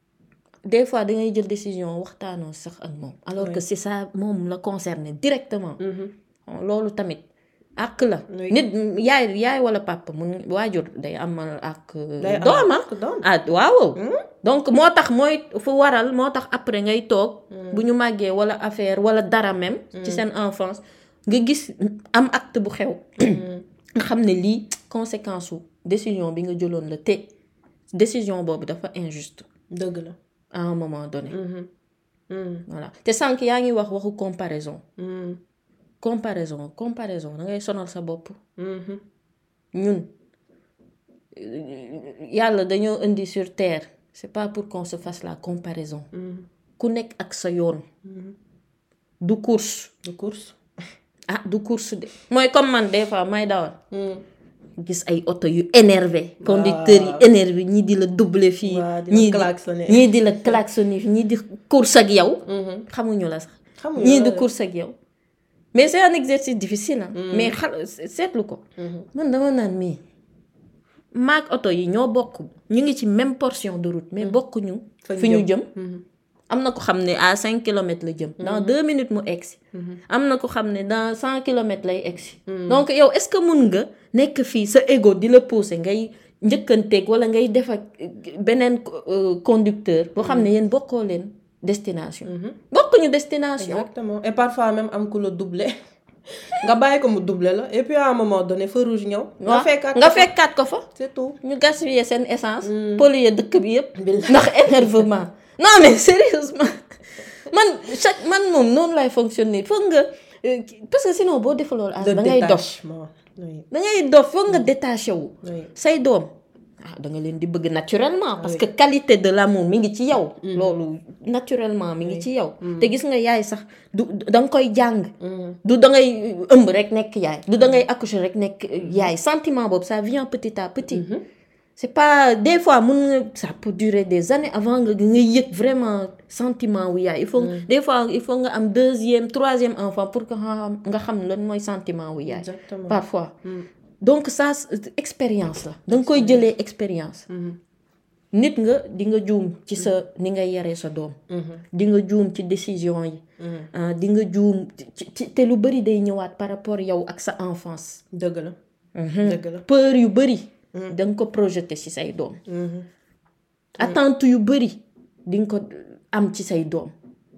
des fois da ngay jël décision waxtaanoo sax ak moom. alors oui. que c'est ça moom la concerné directement. Mm-hmm. loolu tamit àq la. Oui. nit yaay yaay wala papa mun waajur day amal àq. dooma ah waaw. Mm-hmm. donc moo tax mooy fu waral moo tax après ngay toog. Mm-hmm. bu ñu màggee wala affaire wala dara même. Mm-hmm. ci seen enfance nga gis am acte bu xew. Mm-hmm. nga xam ne lii conséquence su décision bi nga jëloon la te décision boobu dafa injuste. dëgg la. à un moment donné. Mm-hmm. Mm-hmm. voilà te sànq yaa ngi wax waxu comparaison. Mm-hmm. comparaison comparaison da ngay sonal sa bopp. Mm-hmm. ñun yàlla dañoo indi sur terre c'est pas pour qu'on se fasse la comparaison. Mm-hmm. ku nekk ak sa yoon. Mm-hmm. du course. du course. ah du course de mooy comme man des fois may dawal. Mm. gis ay oto yu énervé conducteurs yi énervé ñii di la doubler fii ñii di ñii di la klaxonner ñii di course ak yow. xamuñu la sax. ñii di course ak yow. mais c'est un exercice difficile ah. Mm. mais xal seetlu ko. Mm-hmm. man dama naan mii maag oto yi ñoo bokk ñu ngi ci même portion de route mais bokkuñu. fi ñu jëm. Mm-hmm. am na ko xam ne à cinq kilomètres la jëm. dans mm-hmm. deux minutes mu egsi. Mm-hmm. am na ko xam ne dans cent kilomètres lay egsi. Mm-hmm. donc yow est-ce que mun nga nekk fii sa ego di la pousser ngay njëkkanteeg wala ngay def ak beneen conducteur boo xam ne yéen bokkoo leen destination. Mm-hmm. bokkuñu destination. exactement et parfois même am ku la doubler nga bàyyi ko mu doubler la et puis à un moment donné feu rouge ñëw. nga fekkaat nga fekkaat ko fa. c'est tout ñu gaspiller seen essence. Mm. polluer dëkk bi yëpp. ndax énervement. non mais sérieusement man chaque man moom noonu lay fonctionner foog nga parce que sinon boo defee loolu. da ngay dof da ngay dof foog nga détaché wu. say doom ah da nga leen di bëgg naturellement. parce que qualité de l'amour mi ngi ci yow. loolu naturellement mi ngi ci yow. te gis nga yaay sax du da nga koy jàng. du da ngay ëmb rek nekk yaay. du da ngay accoucher rek nekk yaay sentiment boobu ça vient petit à petit. c'est pas des fois mun nga ça peut durer des années avant nga nga yëg vraiment sentiment wu yaay il faut mm. des fois il faut nga am deuxième troisième enfant pour que nga xam lan mooy sentiment wu yaay. Exactement. Parfois mm. donc ça expérience la da nga koy jëlee expérience. Mm-hmm. nit nga di nga juum ci sa ni nga yaree sa doom. Mm-hmm. di nga juum ci décision yi. Mm-hmm. di nga juum ci te lu bari day ñëwaat par rapport yow ak sa enfance. dëgg la. Mm-hmm. dëgg la peur yu bari. da nga ko projeté ci say doom. attente yu bari di nga ko am ci say doom.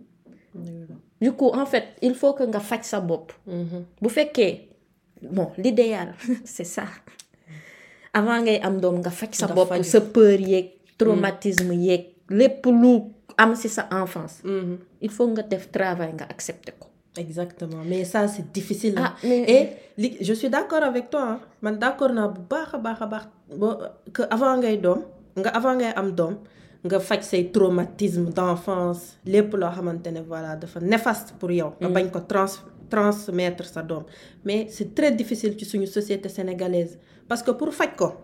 du coup en fait il faut que nga faj sa bopp. bu fekkee bon l'idéal c'est ça avant ngay am doom nga faj sa bopp sa peur yeeg traumatisme yeeg lépp lu am ci sa enfance. il faut nga def travail nga accepter ko. exactement mais ça c'est difficile. ah mais et li je suis d'accord avec toi hein. man d'accord naa bu baax a baax a baax que avant ngay doom nga avant ngay am doom nga faj say traumatisme d'enfance lépp loo xamante ne voilà dafa néfaste pour yow. nga bañ ko trans transmettre sa doom mais c'est très difficile ci suñu société sénégalaise parce que pour faj ko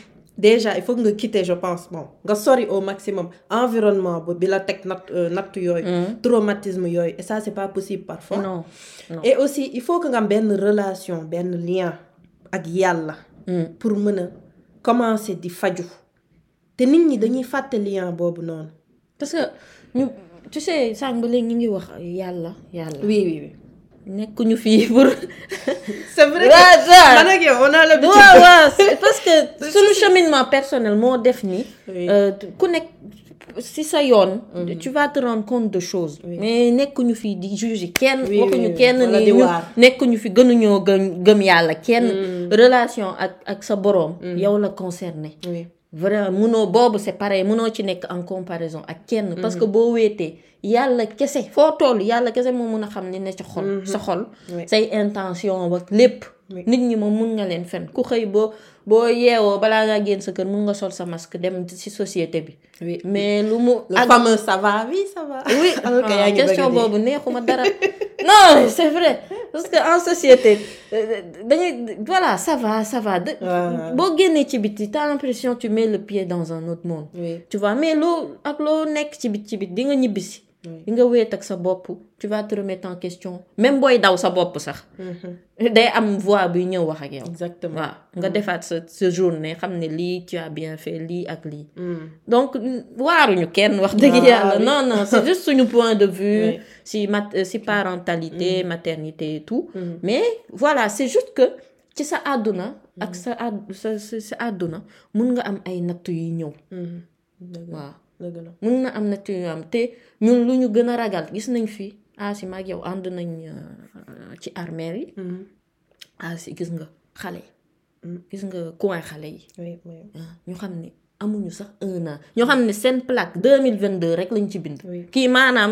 déjà il faut que nga quitter je pense bon nga sori au maximum environnement bi la teg natt natt yooyu. traumatisme yooyu et ça c'est pas possible parfois. non non et aussi il faut que nga am benn relation benn lien ak yàlla. pour mën a commencer di faju te nit ñi dañuy fàtte lien boobu noonu. parce que ñu tu sais sànq ba léegi ñu ngi wax yàlla yàlla. oui oui oui. nekkuñu fii pour. c'est vrai que man ak yow on a l'habitude. waaw waaw parce que suñu cheminement personnel moo def ni. ku nekk si sa yoon. tu vas te rendre compte de choses. mais nekkuñu fii di juger kenn. waxuñu kenn ni ñu nekkuñu fi gënuñoo gëm gëm yàlla kenn. relation ak ak sa boroom. yow la concerné. vraiment munoo boobu c'est pareil munoo ci nekk en comparaison ak kenn. parce que boo wéetee yàlla kese foo toll yàlla kese moo mun a xam ni ne ci xol. sa xol say intention ak lépp. nit ñi moom mun nga leen fen ku xëy boo boo yeewoo balaa ngaa génn sa kër mun nga sol sa masque dem ci société bi. mais lu mu. le fameux ça va oui ça va. oui ah question boobu neexuma dara. non c'est vrai parce que en société dañuy voilà ça va ça va. boo génnee ci biti t'as l'impression tu mets le pied dans un autre monde. tu vois mais loo ak loo nekk ci bit ci bit di nga ñibbisi. di nga wéet ak sa bopp tu vas te remettre en question même booy daw sa bopp sax. day am voix buy ñëw wax ak yow. exactement waaw nga defaat sa sa journée xam ne lii tu as bien fait lii ak lii. donc waaruñu kenn wax dëgg yàlla non non c'est juste suñu point de vue. si mat si parentalité maternité et tout. mais voilà c'est juste que ci sa àdduna. ak sa àdd sa sa àdduna mun nga am ay natt yu ñëw. waaw. mun na am natt yu am te ñun lu ñu gën a ragal gis nañ fi asi maag yow ànd nañ ci armère yi. asi gis nga xale yi. gis nga coin xale yi. ñu xam ne amuñu sax un an ñoo xam ne seen plaque deux mille vingt-deux rek lañ ci bind. kii maanaam.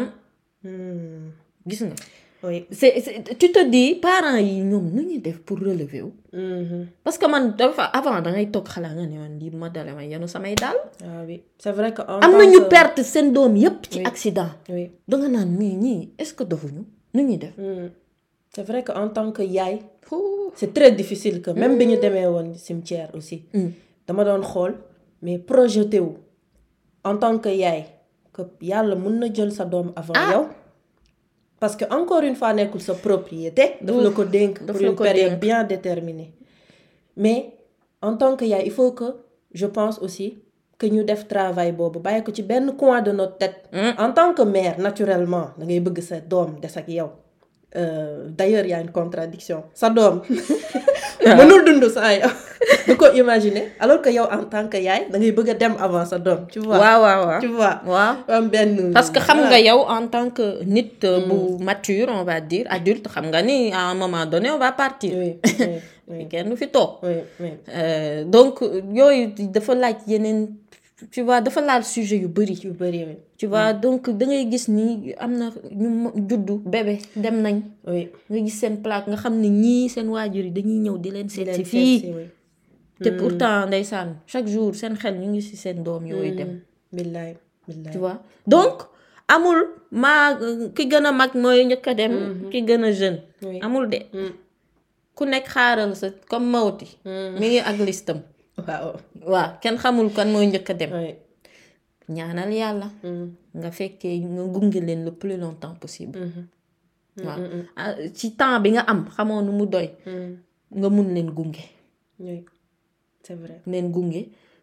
gis nga. oui c'est, c'est tu te dis parents yi ñoom nu ñuy def pour relever wu. parce que man dafa avant da ngay toog xalaat nga ne man lii ma dale ma yenu samay daal. ah oui c'est vrai que am na ñu perte seen doom yépp ci accident. oui da nga naan mais ñii est-ce que dofuñu nu ñuy def. c'est vrai que en tant que yaay. c'est très difficile que même bi ñu demee woon cimetière aussi. dama doon xool mais projeté wu en tant que yaay que yàlla mun na jël sa doom avant yow. parce que encore une fois nekkul sa propriété. daf la ko dénk pour une période bien déterminée. mais en tant que yaay il faut que je pense aussi que ñu def travail boobu bàyyi ko ci benn coin de notre tête. en tant que mère naturellement da ngay bëgg sa doom des ak yow. d'ailleurs il y a une contradiction sa doom mënul dund saa yow du ko imaginer alors que yow en tant que yaay da ngay bëgg a dem avant sa doom. tu vois waaw waaw waaw tu vois. waaw am benn. parce que xam nga yow en tant que nit bu mature on va dire adulte xam nga ni à un moment donné on va partir. oui oui kenn du fi toog. oui oui donc yooyu dafa laaj yeneen tu vois dafa laal sujet yu bari. yu bari oui. tu vois donc da ngay gis ni am na ñu juddu bébé dem nañ. oui nga gis seen plaque nga xam ne ñii seen waajur yi dañuy ñëw di leen seet si fii. te pourtant ndeysaan chaque jour seen xel ñu ngi ci seen doom yooyu dem. billaay billaay tu vois donc amul maa ki gën a mag mooy njëkk a dem. ki gën a jeune. amul de. ku nekk xaaral sa comme Mawti. mi ngi ak listam. waaw waaw kenn xamul kan mooy njëkk a dem. ñaanal yàlla. nga fekkee nga gunge leen le plus longtemps possible. waaw ci temps bi nga am xamoo nu mu doy. nga mun leen gunge. oui c'est vrai. leen gunge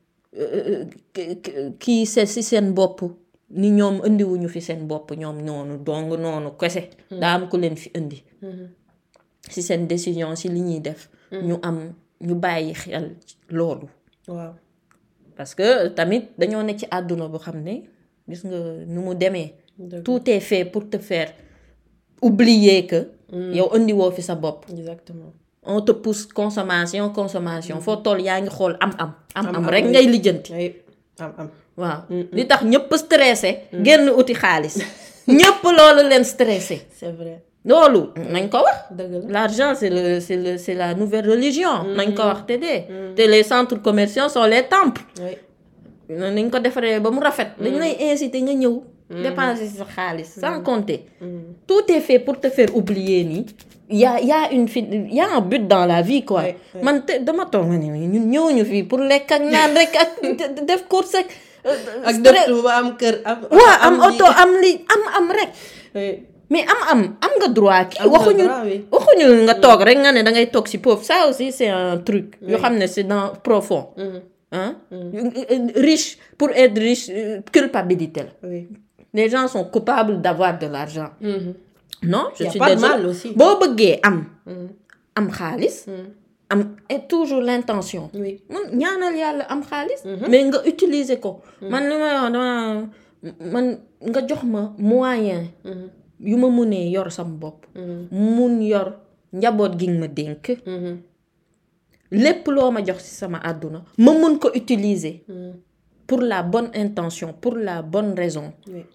kii se si seen bopp ni ñoom indiwuñu fi seen bopp ñoom noonu dong noonu kese. daa am ku leen fi indi. si seen décision si li ñuy def. ñu am ñu bàyyi xel loolu. waaw parce que tamit dañoo ne ci àdduna bu xam ne gis nga nu mu demee. tout est fait pour te faire oublier que. yow indiwoo fi sa bopp. exactement. on te pousse consommation consommation foo toll yaa ngi xool am am. am am rek ngay lijjanti. am am waaw li tax ñëpp stressé génn uti xaalis ñëpp loolu leen stressé c'est vrai loolu nañ ko wax dëgg la l'argent c'est le c'est le c'est la nouvelle religion nañ ko wax te dee te les centres commerciaux sont les temples oui nañ ko defaree ba mu rafet dañ lay inciter nga ñëw dépenser sa xaalis sans compter tout est fait pour te faire oublier nii y a y a une fi y a un but dans la vie quoi man te dama toog ma ne ñun ñëwuñu fii pour lekk ak naan rek ak def course ak ak def ba am kër am waaw am oto am li am am rek mais am am am nga droit ki waxuñu waxuñu nga toog rek nga ne da ngay toog si pauvre ça aussi c'est un truc yoo xam ne c'est dans profond hein riche pour être riche culpabilité la les gens sont coupables d'avoir de l'argent non je suis désolée boo bëggee am am xaalis am et toujours l'intention man ñaanal yàlla am xaalis mais nga utiliser ko man li may wax dama man nga jox ma moyen yu ma munee yor sama bopp mun yor njaboot gi nga ma dénk lépp loo ma jox ci sama àdduna ma mun ko utiliser pour la bonne intention pour la bonne raison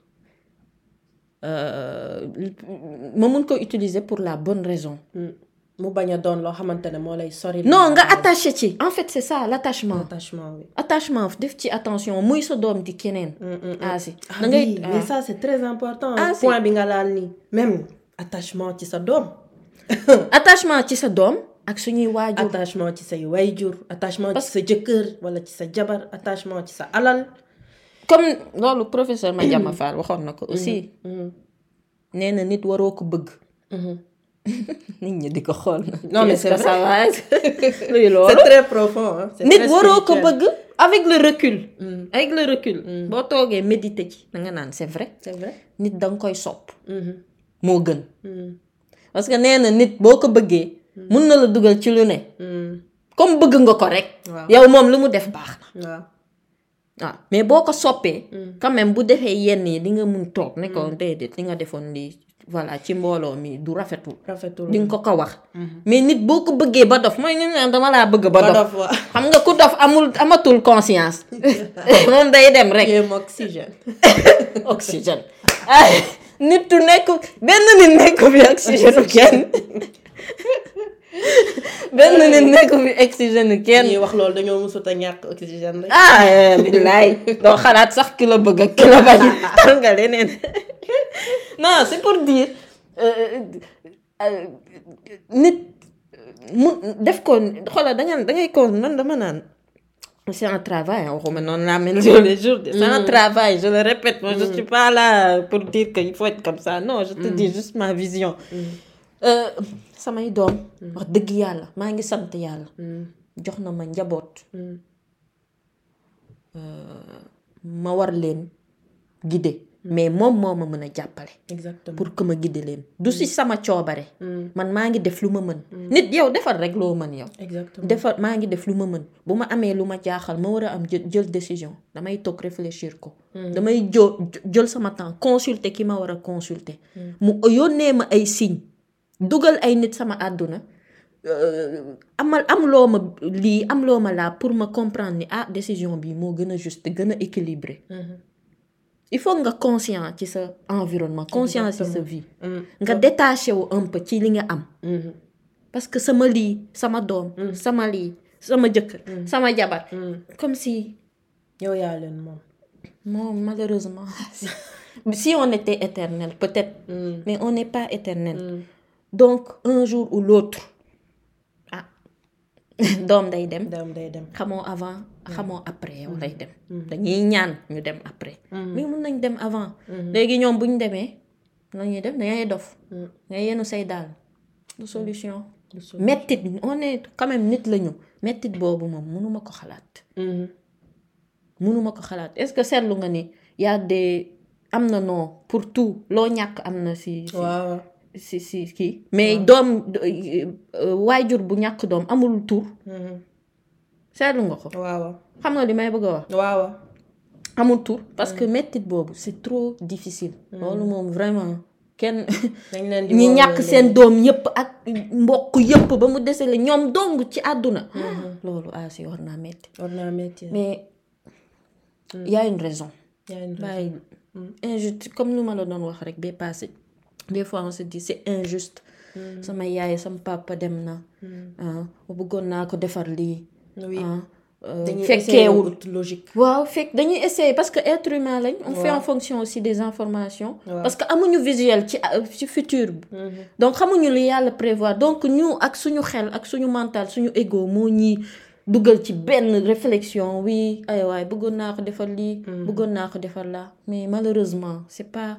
ma mun ko utiliser pour la bonne raison mu bañ a doon loo xamante ne moo lay sori non nga attaché ci en fait c'est ça l'attachement attachement oui attachement def ci attention muy sa doom di keneen ah si da ngay mais ça c'est très important point bi nga laal nii même attachement ci sa doom attachement ci sa doom ak suñuy waajur attachement ci say waajur attachement ci sa jëkkër wala ci sa jabar attachement ci sa alal comme loolu professeur Madiama Fall waxoon na ko aussi nee na nit waroo ko bëgg nit ñi di ko xool na non mais c'est ça luy loolu c'est très profond hein nit waroo ko bëgg avec le recul avec le recul boo toogee méditer ci da nga naan c'est vrai c'est vrai nit da nga koy sopp moo gën parce que nee na nit boo ko bëggee mun na la dugal ci lu ne comme bëgg nga ko rek yow moom lu mu def baax na waaw waaw mais boo ko soppee quand même bu defee yenn yi di nga mun toog ne ko déedéet li nga defoon lii voilà ci mbooloo mi du rafetul rafetul di nga ko ko wax mais nit boo ko bëggee ba dof mooy ñu naan dama laa bëgg ba dof xam nga ku dof amul amatul conscience moom day dem rek oxygène oxygène ay nit tu nekk benn nit nekk fi oxygène kenn benn nit nekk fi oxygène kenn ñuy wax loolu dañoo mësut a ñàkk oxygène rek ah billaay doo xalaat sax ki la bëgg ak ki la bañ tal nga leneen non c'est pour dire nit mu def ko xoolal da nga da ngay ko man dama naan c'est un travail waxuma noonu laa mel tous les jours c'est un travail je le répète moi je suis pas là pour dire que il faut être comme ça non je te dis juste ma vision samay doom wax dëgg yàlla maa ngi sant yàlla jox na ma njaboot ma war leen guider mais moom moo ma mën a jàppale exactement pour que ma guider leen du si sama coobare man maa ngi def lu ma mën nit yow defal rek loo mën yow exactement defal maa ngi def lu ma mën bu ma amee lu ma jaaxal ma war a am jël décision damay toog réfléchir ko damay jo jël sama temps consulter ki ma war a consulter mu yónnee ma ay signes dugal ay nit sama àdduna amal am loo ma lii am loo ma laa pour ma comprendre ni ah décision bi moo gën a juste gën a équilibré il faut nga conscient ci sa environnement conscient ci sa vie nga détaché wu un peu ci li nga am parce que sama lii sama doom sama lii sama jëkkër sama jabar comme si yow yaa leen moom moom malheureusement si on était éternel peut-être mais on n'est pas éternel donc un jour ou l'autre ah doom day dem doom day dem xamoo avant xamoo après yow lay dem dañuy ñaan ñu dem après mais mun nañ dem avant léegi ñoom bu ñu demee lañuy def dangay dof ngay yenu say daal du solution mettit on est quand même nit lañu mettit boobu moom mënuma ko xalaat mënuma ko xalaat est-ce que seetlu nga ni y a des am na non pour tout loo ñàkk am na si waaw si si kii mais doom waajur bu ñàkk doom amul tur seetlu nga ko waaw xam nga li may bëgg a wax waaw amul tur parce que mettit boobu c'est trop difficile loolu moom vraiment kenn ñi ñàkk seen doom yëpp ak mbokk yëpp ba mu desele ñoom dong ci àdduna loolu asi war naa metti war naa metti mais il y a une raison. Il y a une raison. waaye injuste comme nu ma la doon wax rek bee passé des fois on se dit c'est injuste. sama yaay sama papa dem na. ah bëggoon naa ko defar lii. oui dañuy fekkeewul logique. waaw fekk dañuy essayer parce que être humain lañ. on fait en fonction aussi des informations. parce que amuñu visuel ci ci futur bi. donc xamuñu lu yàlla prévoir donc ñu ak suñu xel ak suñu mental suñu ego moo ñuy dugal ci benn réflexion oui ay waay bëggoon naa ko defar lii. bëggoon naa ko defar laa mais malheureusement c'est pas.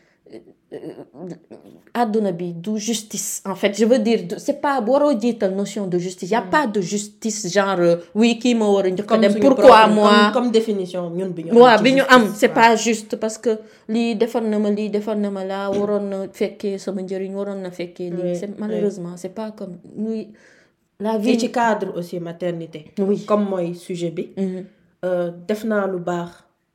àdduna bi du justice en fait je veux dire c'est pas waroo jiital notion de justice y a pas de justice genre oui kii ma war a njëkk a dem pourquoi moi comme définition ñun bi ñu waaw bi ñu am c'est pas juste parce que lii defar na ma lii defar na ma laa waroon na fekkee sama njëriñ waroon na fekkee lii c'est malheureusement c'est pas comme oui la vie ci cadre aussi maternité oui comme mooy sujet bi def naa lu baax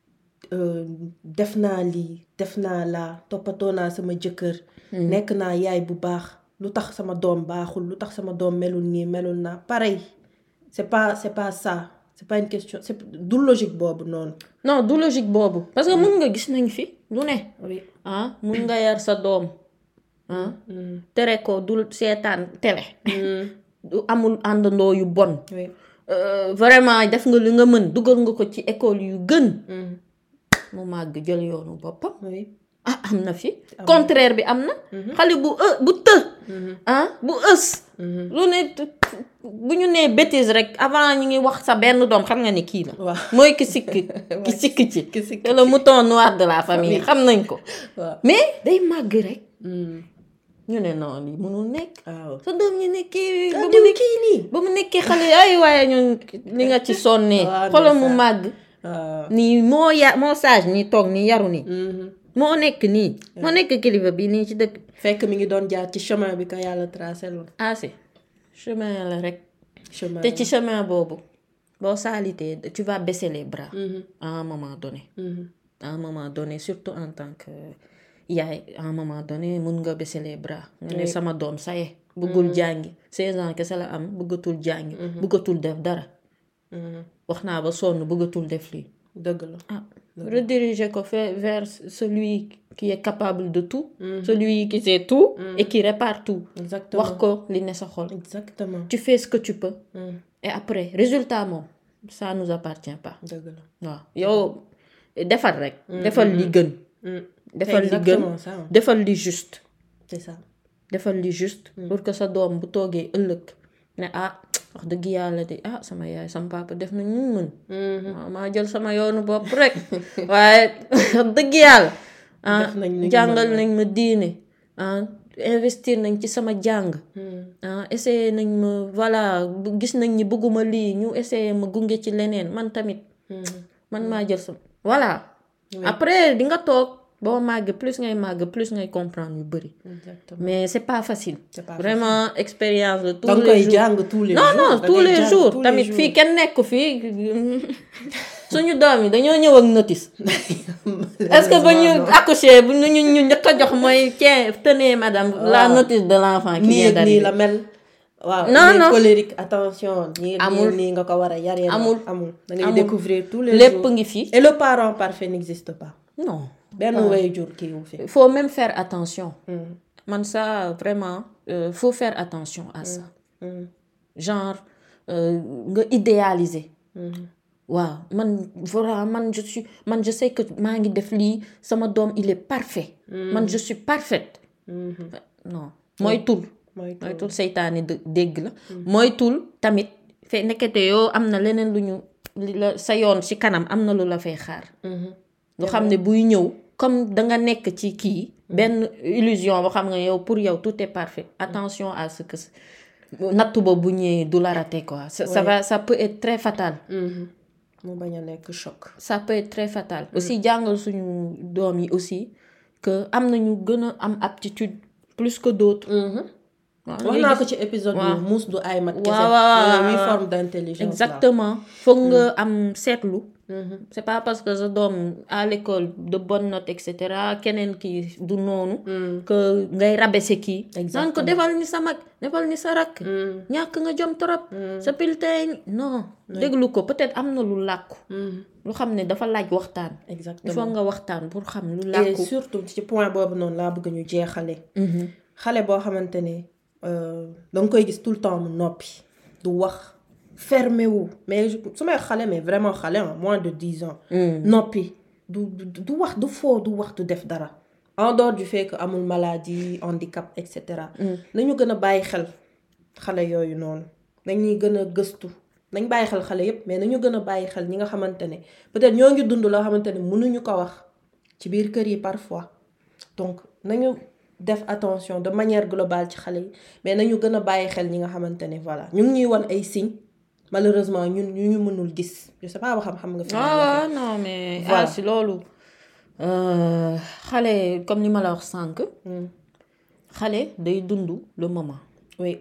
def naa lii def naa laa toppatoo naa sama jëkkër nekk naa yaay bu baax lu tax sama doom baaxul lu tax sama doom melul nii melul naa pareil c'est pas c'est pas ça c'est pas une question c'est du logique boobu noonu non du logique boobu parce que mun nga gis nañ fi lu ne oui ah mun nga yar sa doom ah tere ko du seetaan télé du amul àndandoo yu bon vraiment def nga li nga mën dugal nga ko ci école yu gën mu màgg jël yoonu boppam. oui ah am na fi. contraire bi am na. xale bu ë bu të. ah bu ës. lu ne bu ñu nee bêtise rek avant ñu ngi wax sa benn doom xam nga ni kii la. waaw mooy ki sikk ki sikk ci. ki sikk c'est le mouton noir de la famille xam nañ ko. mais day màgg rek. ñu ne non lii mënul nekk. waaw sa doom ñu nekkee. ba mu nekkee nii ba mu nekkee xale ay waaye ñun li nga ci sonnee. xoolal mu màgg. nii moo ya moo sage nii toog nii yaru nii. moo nekk nii. moo nekk kilifa bi nii ci dëkk. fekk mi ngi doon jaar ci chemin bi ko yàlla tracé loon. ah si chemin la rek. chemin te ci chemin boobu boo saalitee tu vas baisser les bras. à un moment donné. à un moment donné surtout en tant que yaay à un moment donné mun nga baisser les bras. nga ne sama doom saye bëggul jàngi seize ans kese la am bëggatul jàngi. bëggatul def dara. wax naa ba sonn bëggatul def lii. dëgg la ah rediriger ko vers celui qui est capable de tout. celui qui sait tout. et qui répare tout. exactement wax ko li ne sa xol. exactement tu fais ce que tu peux. et après résultat moom ça nous appartient pas. dëgg la waaw yow defal rek. defal li gën. defal li gën defal li juste. c'est ça defal li juste. pour que sa doom bu toogee ëllëg ne ah. wax dëgg yàlla de ah sama yaay sama papa def na ñu mën. waaw maa jël sama yoonu bopp rek waaye wax dëgg yàlla. ah jàngal nañ ma diine ah investir nañ ci sama jàng. ah essayer nañ ma voilà gis nañ ni bëgguma lii ñu essayer ma gunge ci leneen man tamit. man maa jël sama voilà. après di nga toog boo màgg plus ngay màgg plus ngay comprendre yu bëri. mais c'est pas facile. c'est pas vraiment facile. expérience de tous donc les koy jours jàng tous les non jours non tous les jours tamit fii kenn nekk fii suñu doom yi dañoo ñëw ak notice. est-ce que ba ñu accoucher bu ñu ñu njëkk a jox mooy tiens tenez madame. la notice de l'enfant qui vient d'arriver nii la mel. waaw non non colérique attention. nii amul nii nga ko war a yaree. amul amul da ngay découvrir tous les lépp jours ngi fi. et le parent parfait n'existe pas. non. benn waajur kii wu fi. il faut même faire attention. man ça vraiment euh, faut faire attention à ça. genre nga idéaliser. waaw man voilà man je suis man je sais que maa ngi def lii sama doom il est parfait. man je suis parfaite. non moytul. moytul seytaane dégg la. moytul tamit fe nekkete yoo am na leneen lu ñu la sa yoon ci kanam am na lu la fay xaar. lu xam ne buy ñëw comme danga nekk ci kii. benn illusion boo xam nga yow pour yow tout est parfait attention à ce que nattu ba bu ñëwee du la rater quoi. ça va ça peut être très fatal. mu bañ a nekk choc. ça peut être très fatal. aussi jàngal suñu doom yi aussi que am na ñu gën a am aptitude plus que d'autres. wax naa ko ci épisode bi muus du ay mat kese. waaw waaw huit formes d'intelligence. exactement foog nga am seetlu c'est pas parce que sa doom à l'école de bonnes notes et cetera keneen kii du noonu. que ngay rabaisser kii. naan ko defal ni sa mag defal ni sa rakk. ñàkk nga jom trop. sa piltey non. déglu ko peut-être am na lu làkku. lu xam ne dafa laaj waxtaan. exactement il faut nga waxtaan pour xam lu làkku. et surtout ci point boobu noonu laa bëgg ñu jeexale. xale boo xamante ne da nga koy gis tout le temps mu noppi du wax. fermé wu mais su may xale mais vraiment xale en moins de dix ans. noppi du du wax du foo du wax du def dara. en dehors du fait que amul maladie handicap et cetera. nañu gën a bàyyi xel xale yooyu noonu nañuy gën a gëstu nañ bàyyi xel xale yépp mais nañu gën a bàyyi xel ñi nga xamante ne peut-être ñoo ngi dund loo xamante ne mënuñu ko wax ci biir kër yi parfois donc nañu def attention de manière globale ci xale yi mais nañu gën a bàyyi xel ñi nga xamante ne voilà ñu ngi ñuy wan ay signes. malheureusement ñun ñu ñu mënul gis je sais pas ba xam-xam nga. fi ah non mais. voilà ah si loolu xale comme ni ma la wax sànq. xale day dund le moment. oui.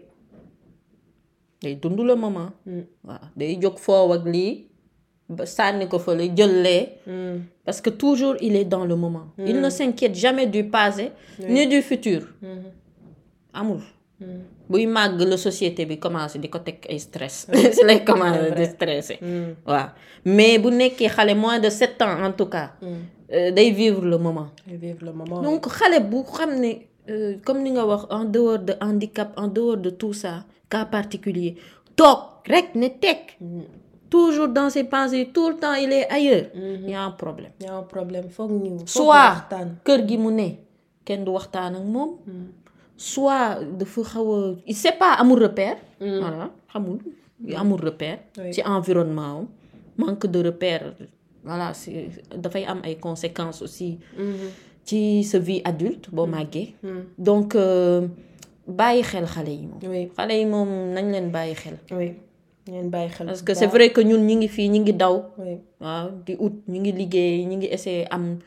day dund le moment. waaw day jóg foofu ak lii ba sànni ko fa la jëlee. parce que toujours il est dans le moment. il ne s'inquiète jamais du passé. ni du futur. amul. buy màgg la société bi commencé di ko teg ay stress si lay commencé di stressé waaw mais bu nekkee xale moins de sept ans en tout cas day vivre le moment vivre le moment donc xale bu xam ne comme ni nga wax en dehors de handicap en dehors de tout ça cas particulier toog rek ne teg toujours dans ses pensées tout le temps il est ailleurs il y a un problème il y a un problème foog ñu soit kër gi mu ne kenn du waxtaan ak moom soit dafa xaw a il sait pas amul repère. voilà xamul amul repère. ci environnement am manque de repère voilà c'est dafay am ay conséquences aussi. ci sa vie adulte boo màggee. donc bàyyi xel xale yi moom. xale yi moom nañ leen bàyyi xel. oui nañ bàyyi xel. parce que c'est vrai que ñun ñi ngi fii ñi ngi daw. waaw di ut ñi ngi liggéey ñi ngi essayer am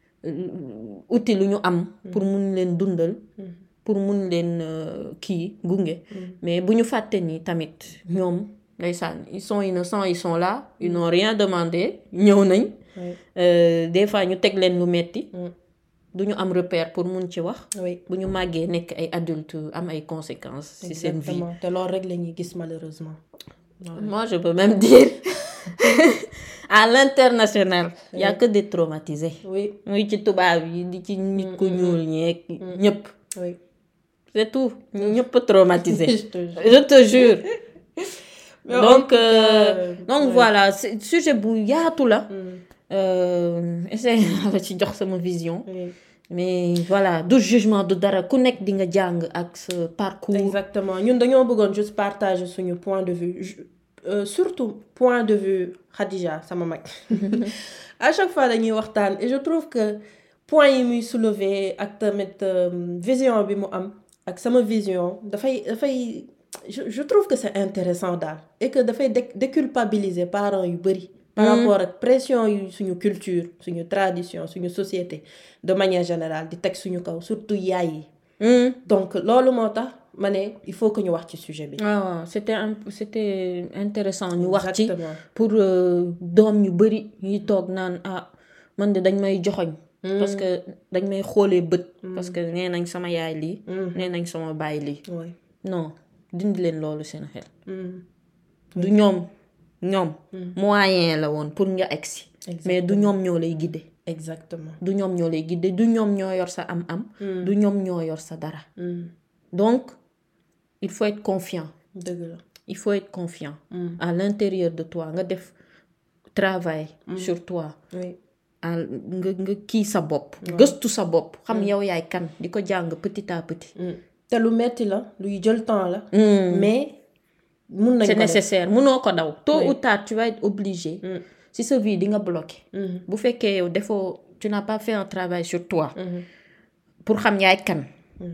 uti lu ñu am. pour mun leen dundal. pour mun leen kii gunge. mais bu ñu fàtte ni tamit ñoom ndeysaan ils sont innocents ils sont là ils n'ont rien demandé ñëw nañ. des fois ñu teg leen lu metti du ñu am repère pour mun ci wax. bu ñu màggee nekk ay adultes am ay conséquences. ci seen vie te loolu rek la ñuy gis malheureusement. moi je peux même dire à l'international. il y a que des traumatisés. oui muy ci tubaab yi di ci nit ku ñuul ñeeg ñëpp. oui. c'est tout ñëpp traumatisé je te jure donc euh, donc ouais. Voilà sujet bu yaatu la essaye la ci jox sama vision oui. Mais voilà du jugement du dara ku nekk di nga jàng ak sa parcours exactement ñun dañoo bëggoon juste partager suñu point de vue euh, surtout point de vue Khadija sama mag à chaque fois dañuy waxtaan et je trouve que point yi muy soulever ak tamit vision bi mu am ak sama vision dafay dafay je je trouve que c'est intéressant daal et que dafay déculpabiliser parents yu bari. par rapport ak pression yu suñu culture suñu tradition suñu société de manière générale di teg suñu kaw surtout yaay yi. donc loolu moo tax ma ne il faut que ñu wax ci sujet bi. waaw c'était c'était intéressant ñu wax ci pour doom ñu bari ñuy toog naan ah man de dañ may joxoñ parce que dañ may xoolee bët. parce que nee nañ sama yaay lii. nee nañ sama baay lii. non dindi leen loolu seen xel. du ñoom ñoom. moyen la woon pour nga egsi. mais du ñoom ñoo lay guider. exactement du ñoom ñoo lay guider du ñoom ñoo yor sa am-am. du ñoom ñoo yor sa dara. donc il faut être confiant. dëgg la il faut être confiant. à l'intérieur de toi nga def travail. sur toi. oui. nga nga kii sa bopp. gëstu sa bopp xam yow yaay kan di ko jàng petit à petit. te lu metti la luy jël temps la. mais mun nañ ko c'est nécessaire munoo ko daw. tôt ou tard tu vas être obligé. si sa vie di nga bloqué. bu fekkee yow defoo tu n'as pas fait un travail sur toi. pour xam yaay kan.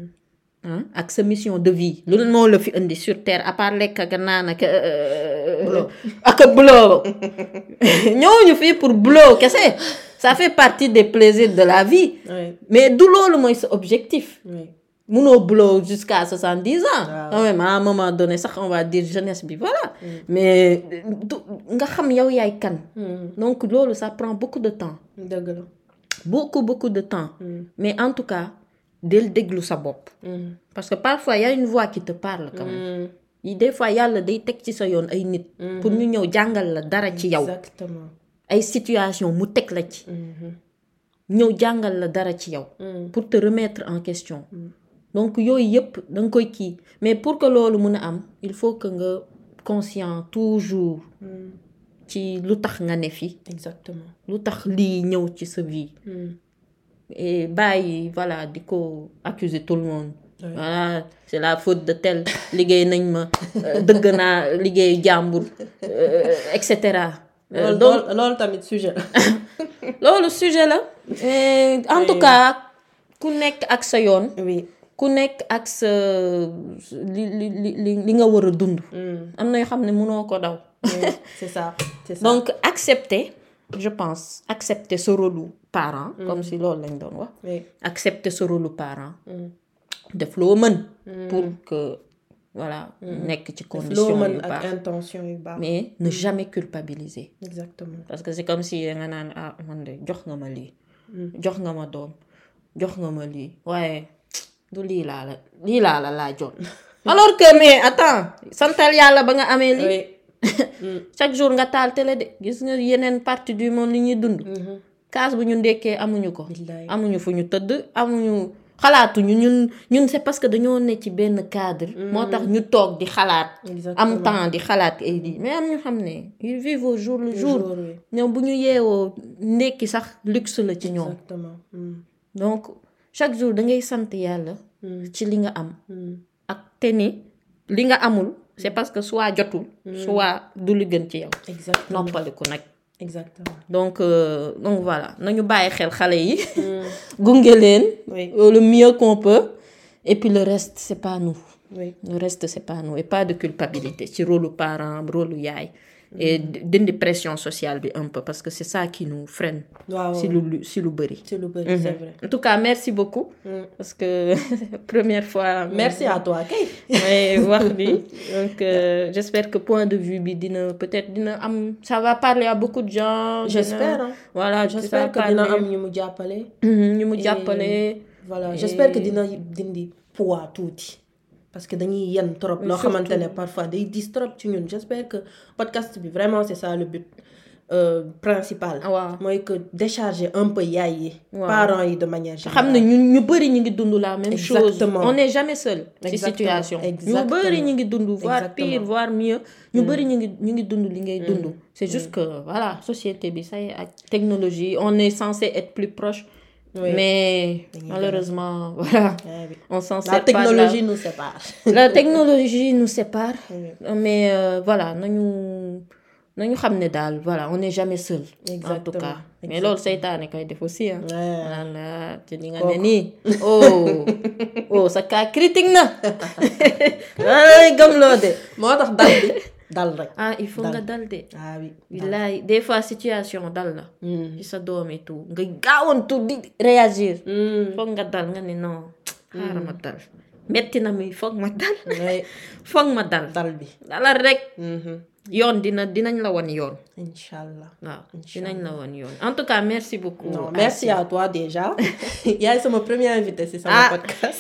ak sa mission de vie loolu moo la fi indi sur terre à part lekk ak naan ak. ak boulot ñëwuñu fii pour boulot kese. ça fait partie des plaisirs de la vie. Oui. mais du loolu mooy sa objectif. Oui. munoo blow jusqu'à soixante-dix ans. Waaw. quand même à un moment donné sax on va dire jeunesse bi voilà. mais du nga xam yow yaay kan. donc loolu ça prend beaucoup de temps. dëgg la. beaucoup beaucoup de temps. mais en tout cas del déglu sa bopp. parce que parfois y a une voix qui te parle quand même. yi des fois yàlla day teg ci sa yoon ay nit. pour ñu ñëw jàngal la dara ci yow. exactement. ay situation mu teg la ci. ñëw jàngal la dara ci yow. pour te remettre en question. donc yooyu yëpp da nga koy kii mais pour que loolu mun a am il faut que nga conscient toujours. ci lu tax nga ne fi. exactement. lu tax lii ñëw ci sa vie. et bàyyi voilà di ko accuser tout le monde. Oui. voilà c'est la faute de tel liggéey nañ ma dëgg naa liggéey jàmbur et cetera. loolu donc loolu tamit sujet la. loolu sujet la. et en tout cas ku nekk ak sa yoon. oui. ku nekk ak sa li li li li nga war a dund. am na yoo xam ne mënoo ko daw. oui, c'est ça c'est ça. donc accepter je pense accepter ce rôle parent. comme si loolu lañ doon wax. oui. accepter ce rôle parent. def loo mën. pour que voilà. nekk ci loo condition mën yu ak baax intention yu baax. mais ne jamais culpabiliser. exactement. parce que c'est comme si nga naan ah man de jox nga ma lii. jox nga ma doom jox nga ma lii waaye du lii laa la lii laa la laa jot. alors que mais attends santal yàlla ba nga amee lii. oui. chaque jour nga taal télé de gis nga yeneen partie du monde li ñuy dund. kaas bu ñu ndekkee amuñu ko. Billaay. amuñu fu ñu tëdd amuñu xalaatuñu ñun ñun c'est parce que dañoo ne ci benn cadre. moo tax ñu toog di xalaat. Exactement. am temps di xalaat ay lii mais am ñu xam ne ils vivent au jour le jour. jour, oui. ñoom bu ñu yeewoo ndekki sax luxe la ci ñoom. exactement. Mm. donc chaque jour da ngay sant yàlla. ci li nga am. ak te ni li nga amul c'est parce que soit jotul. soit du li gën ci yow. exactement. noppaliku nag. exactement. donc euh, donc voilà nañu bàyyi xel xale yi. gunge leen. Oui. le mieux qu'on peut. et puis le reste c'est pas nous. oui. le reste c'est pas nous et pas de culpabilité ci rôle parent rôle yaay. et dindi pression sociale bi un peu parce que c'est ça qui nous freine. waaw si lu si lu bëri. c'est lu bëri c'est vrai. en tout cas merci beaucoup. parce que première fois. merci à toi kay. mais wax bi donc euh, j'espère que point de vue bi dina peut-être dina am ça va parler à beaucoup de gens. j'espère dina, hein. voilà j'espère que dina am ñu mu jàppale. ñu mu jàppale. voilà Et- j'espère que dina dindi poids tuuti. parce que dañuy yenn trop loo xamante ne parfois day dis trop ci ñun j'espère que podcast bi vraiment c'est ça le but euh, principal. waaw mooy que décharger un peu yaay yi. waaw. parents yi de manière générale. xam ne ñun ñu bëri ñu ngi dund la même chose. Exactement. on n'est jamais seul. ci Exactement. situation ñu Exactement. bëri ñu ngi dund voire Exactement. pire voire mieux. ñu bëri ñu ngi ñu ngi dund li ngay dund. c'est juste que voilà société bi ça y est ak technologie on est censé être plus proche. Oui. mais malheureusement voilà. Ouais, oui. on s'en La sert pas technologie nous sépare. de la... la technologie nous sépare. Oui. mais euh, voilà nañu nañu xam ne daal voilà on n'est jamais seul. Exactement. en tout cas mais loolu seytaane koy def aussi ah. Ouais. naan la te li nga Kooku. ne nii oh oh sa cas critique na ay gëmloo de. moo tax dal bi dal rek. ah il faut Dal. nga dal de. ah oui. billaay des fois situation dal la. ci sa doom et tout nga gaawantu di réagir. foog nga dal nga ne non xaaral ma dal metti na mi foog ma dal. Ouais. foog ma dal. dal bi. dalal rek. yoon dina dinañ la wan yoon. Inch'Allah. waaw dinañ la wan yoon en tout cas merci beaucoup. Non, merci à toi déjà. Yaay sama premier invité c'est sama Ah. podcast.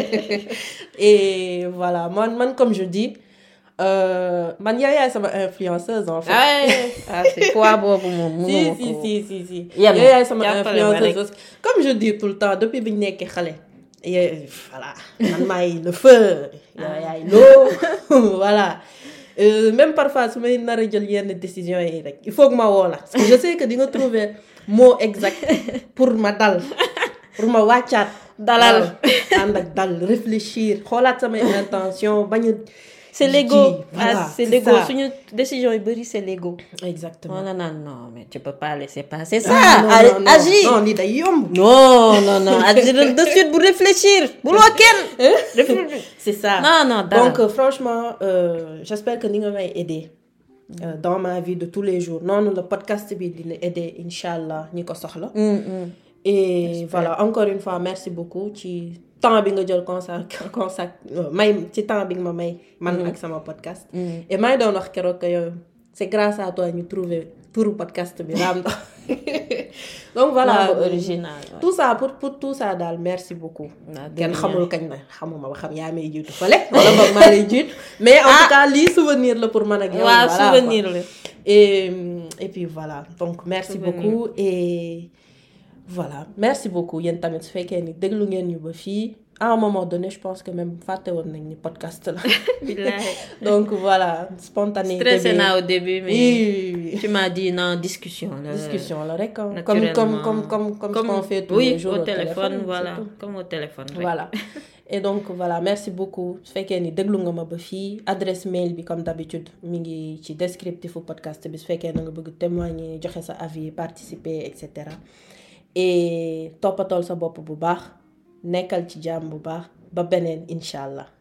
Et voilà man man comme je dis euh, man yaay yaay sama influenceuse en fait. ah ah c'est poids boobu moom. si mënuma si ko. si si si. Yem, yaay yaay sama jàppale ma rek. influenceuse comme je dis tout le temps depuis bi ñu nekkee xale. et voilà man maay le feu. yaay yaay loo voilà. Euh, même parfois su may nar a jël yenn décision yi rek il faut que ma woo la parce que je sais que di nga trouver mot exact pour ma dal pour ma wàccaat. Dalal. waaw, ànd ak dal réfléchir xoolaat samay intention bañ a. c'est l'ego ji, voilà, ah c'est c'est l'ego ça. suñu décision yu bëri c'est l'ego. exactement. wala naan non mais tu peux pas laisser passer ça. Ah, non, non, non, agis non lii day yomb. non non non agir de suite bu réfléchir bu loo kenn. c'est ça. non non dara. donc euh, franchement euh, j'espère que ni nga may aider euh, dans ma vie de tous les jours noonu le podcast bi dina aider incha allah ñi ko soxla. Mm, mm. et voilà encore une fois merci beaucoup ci temps bi nga jël consacre consacre may ci temps bi nga ma may man ak sama podcast et may doon wax keroog que yow c'est grâce à toi ñu trouver pour podcast bi Raam Ndox donc voilà original tout ça pour pour tout ça daal merci beaucoup kenn xamul kañ na xamuma ba xam yaa may jiitu fële wala boog maa lay jiitu mais en tout cas lii souvenir la pour man ak yow waaw souvenir la et et puis voilà donc merci beaucoup et voilà merci beaucoup yéen tamit su fekkee ni déglu ngeen ñu ba fii à un moment donné je pense que même fàtte woon nañ ni podcast la donc voilà spontané stressé naa au début mais oui. tu m'as dit non discussion la discussion la rek comme comme comme comme comme ce qu'on fait tous oui, les jours au au téléphone, téléphone voilà surtout. comme au téléphone rek. Voilà et donc voilà merci beaucoup su fekkee ni déglu nga ma ba fii adresse mail bi comme d'habitude mi ngi ci descriptif podcast bi su fekkee na nga bëgg témoigner joxe sa avis participer et cetera et toppatool sa bopp bu baax nekkal ci jàmm bu baax ba beneen incha allah.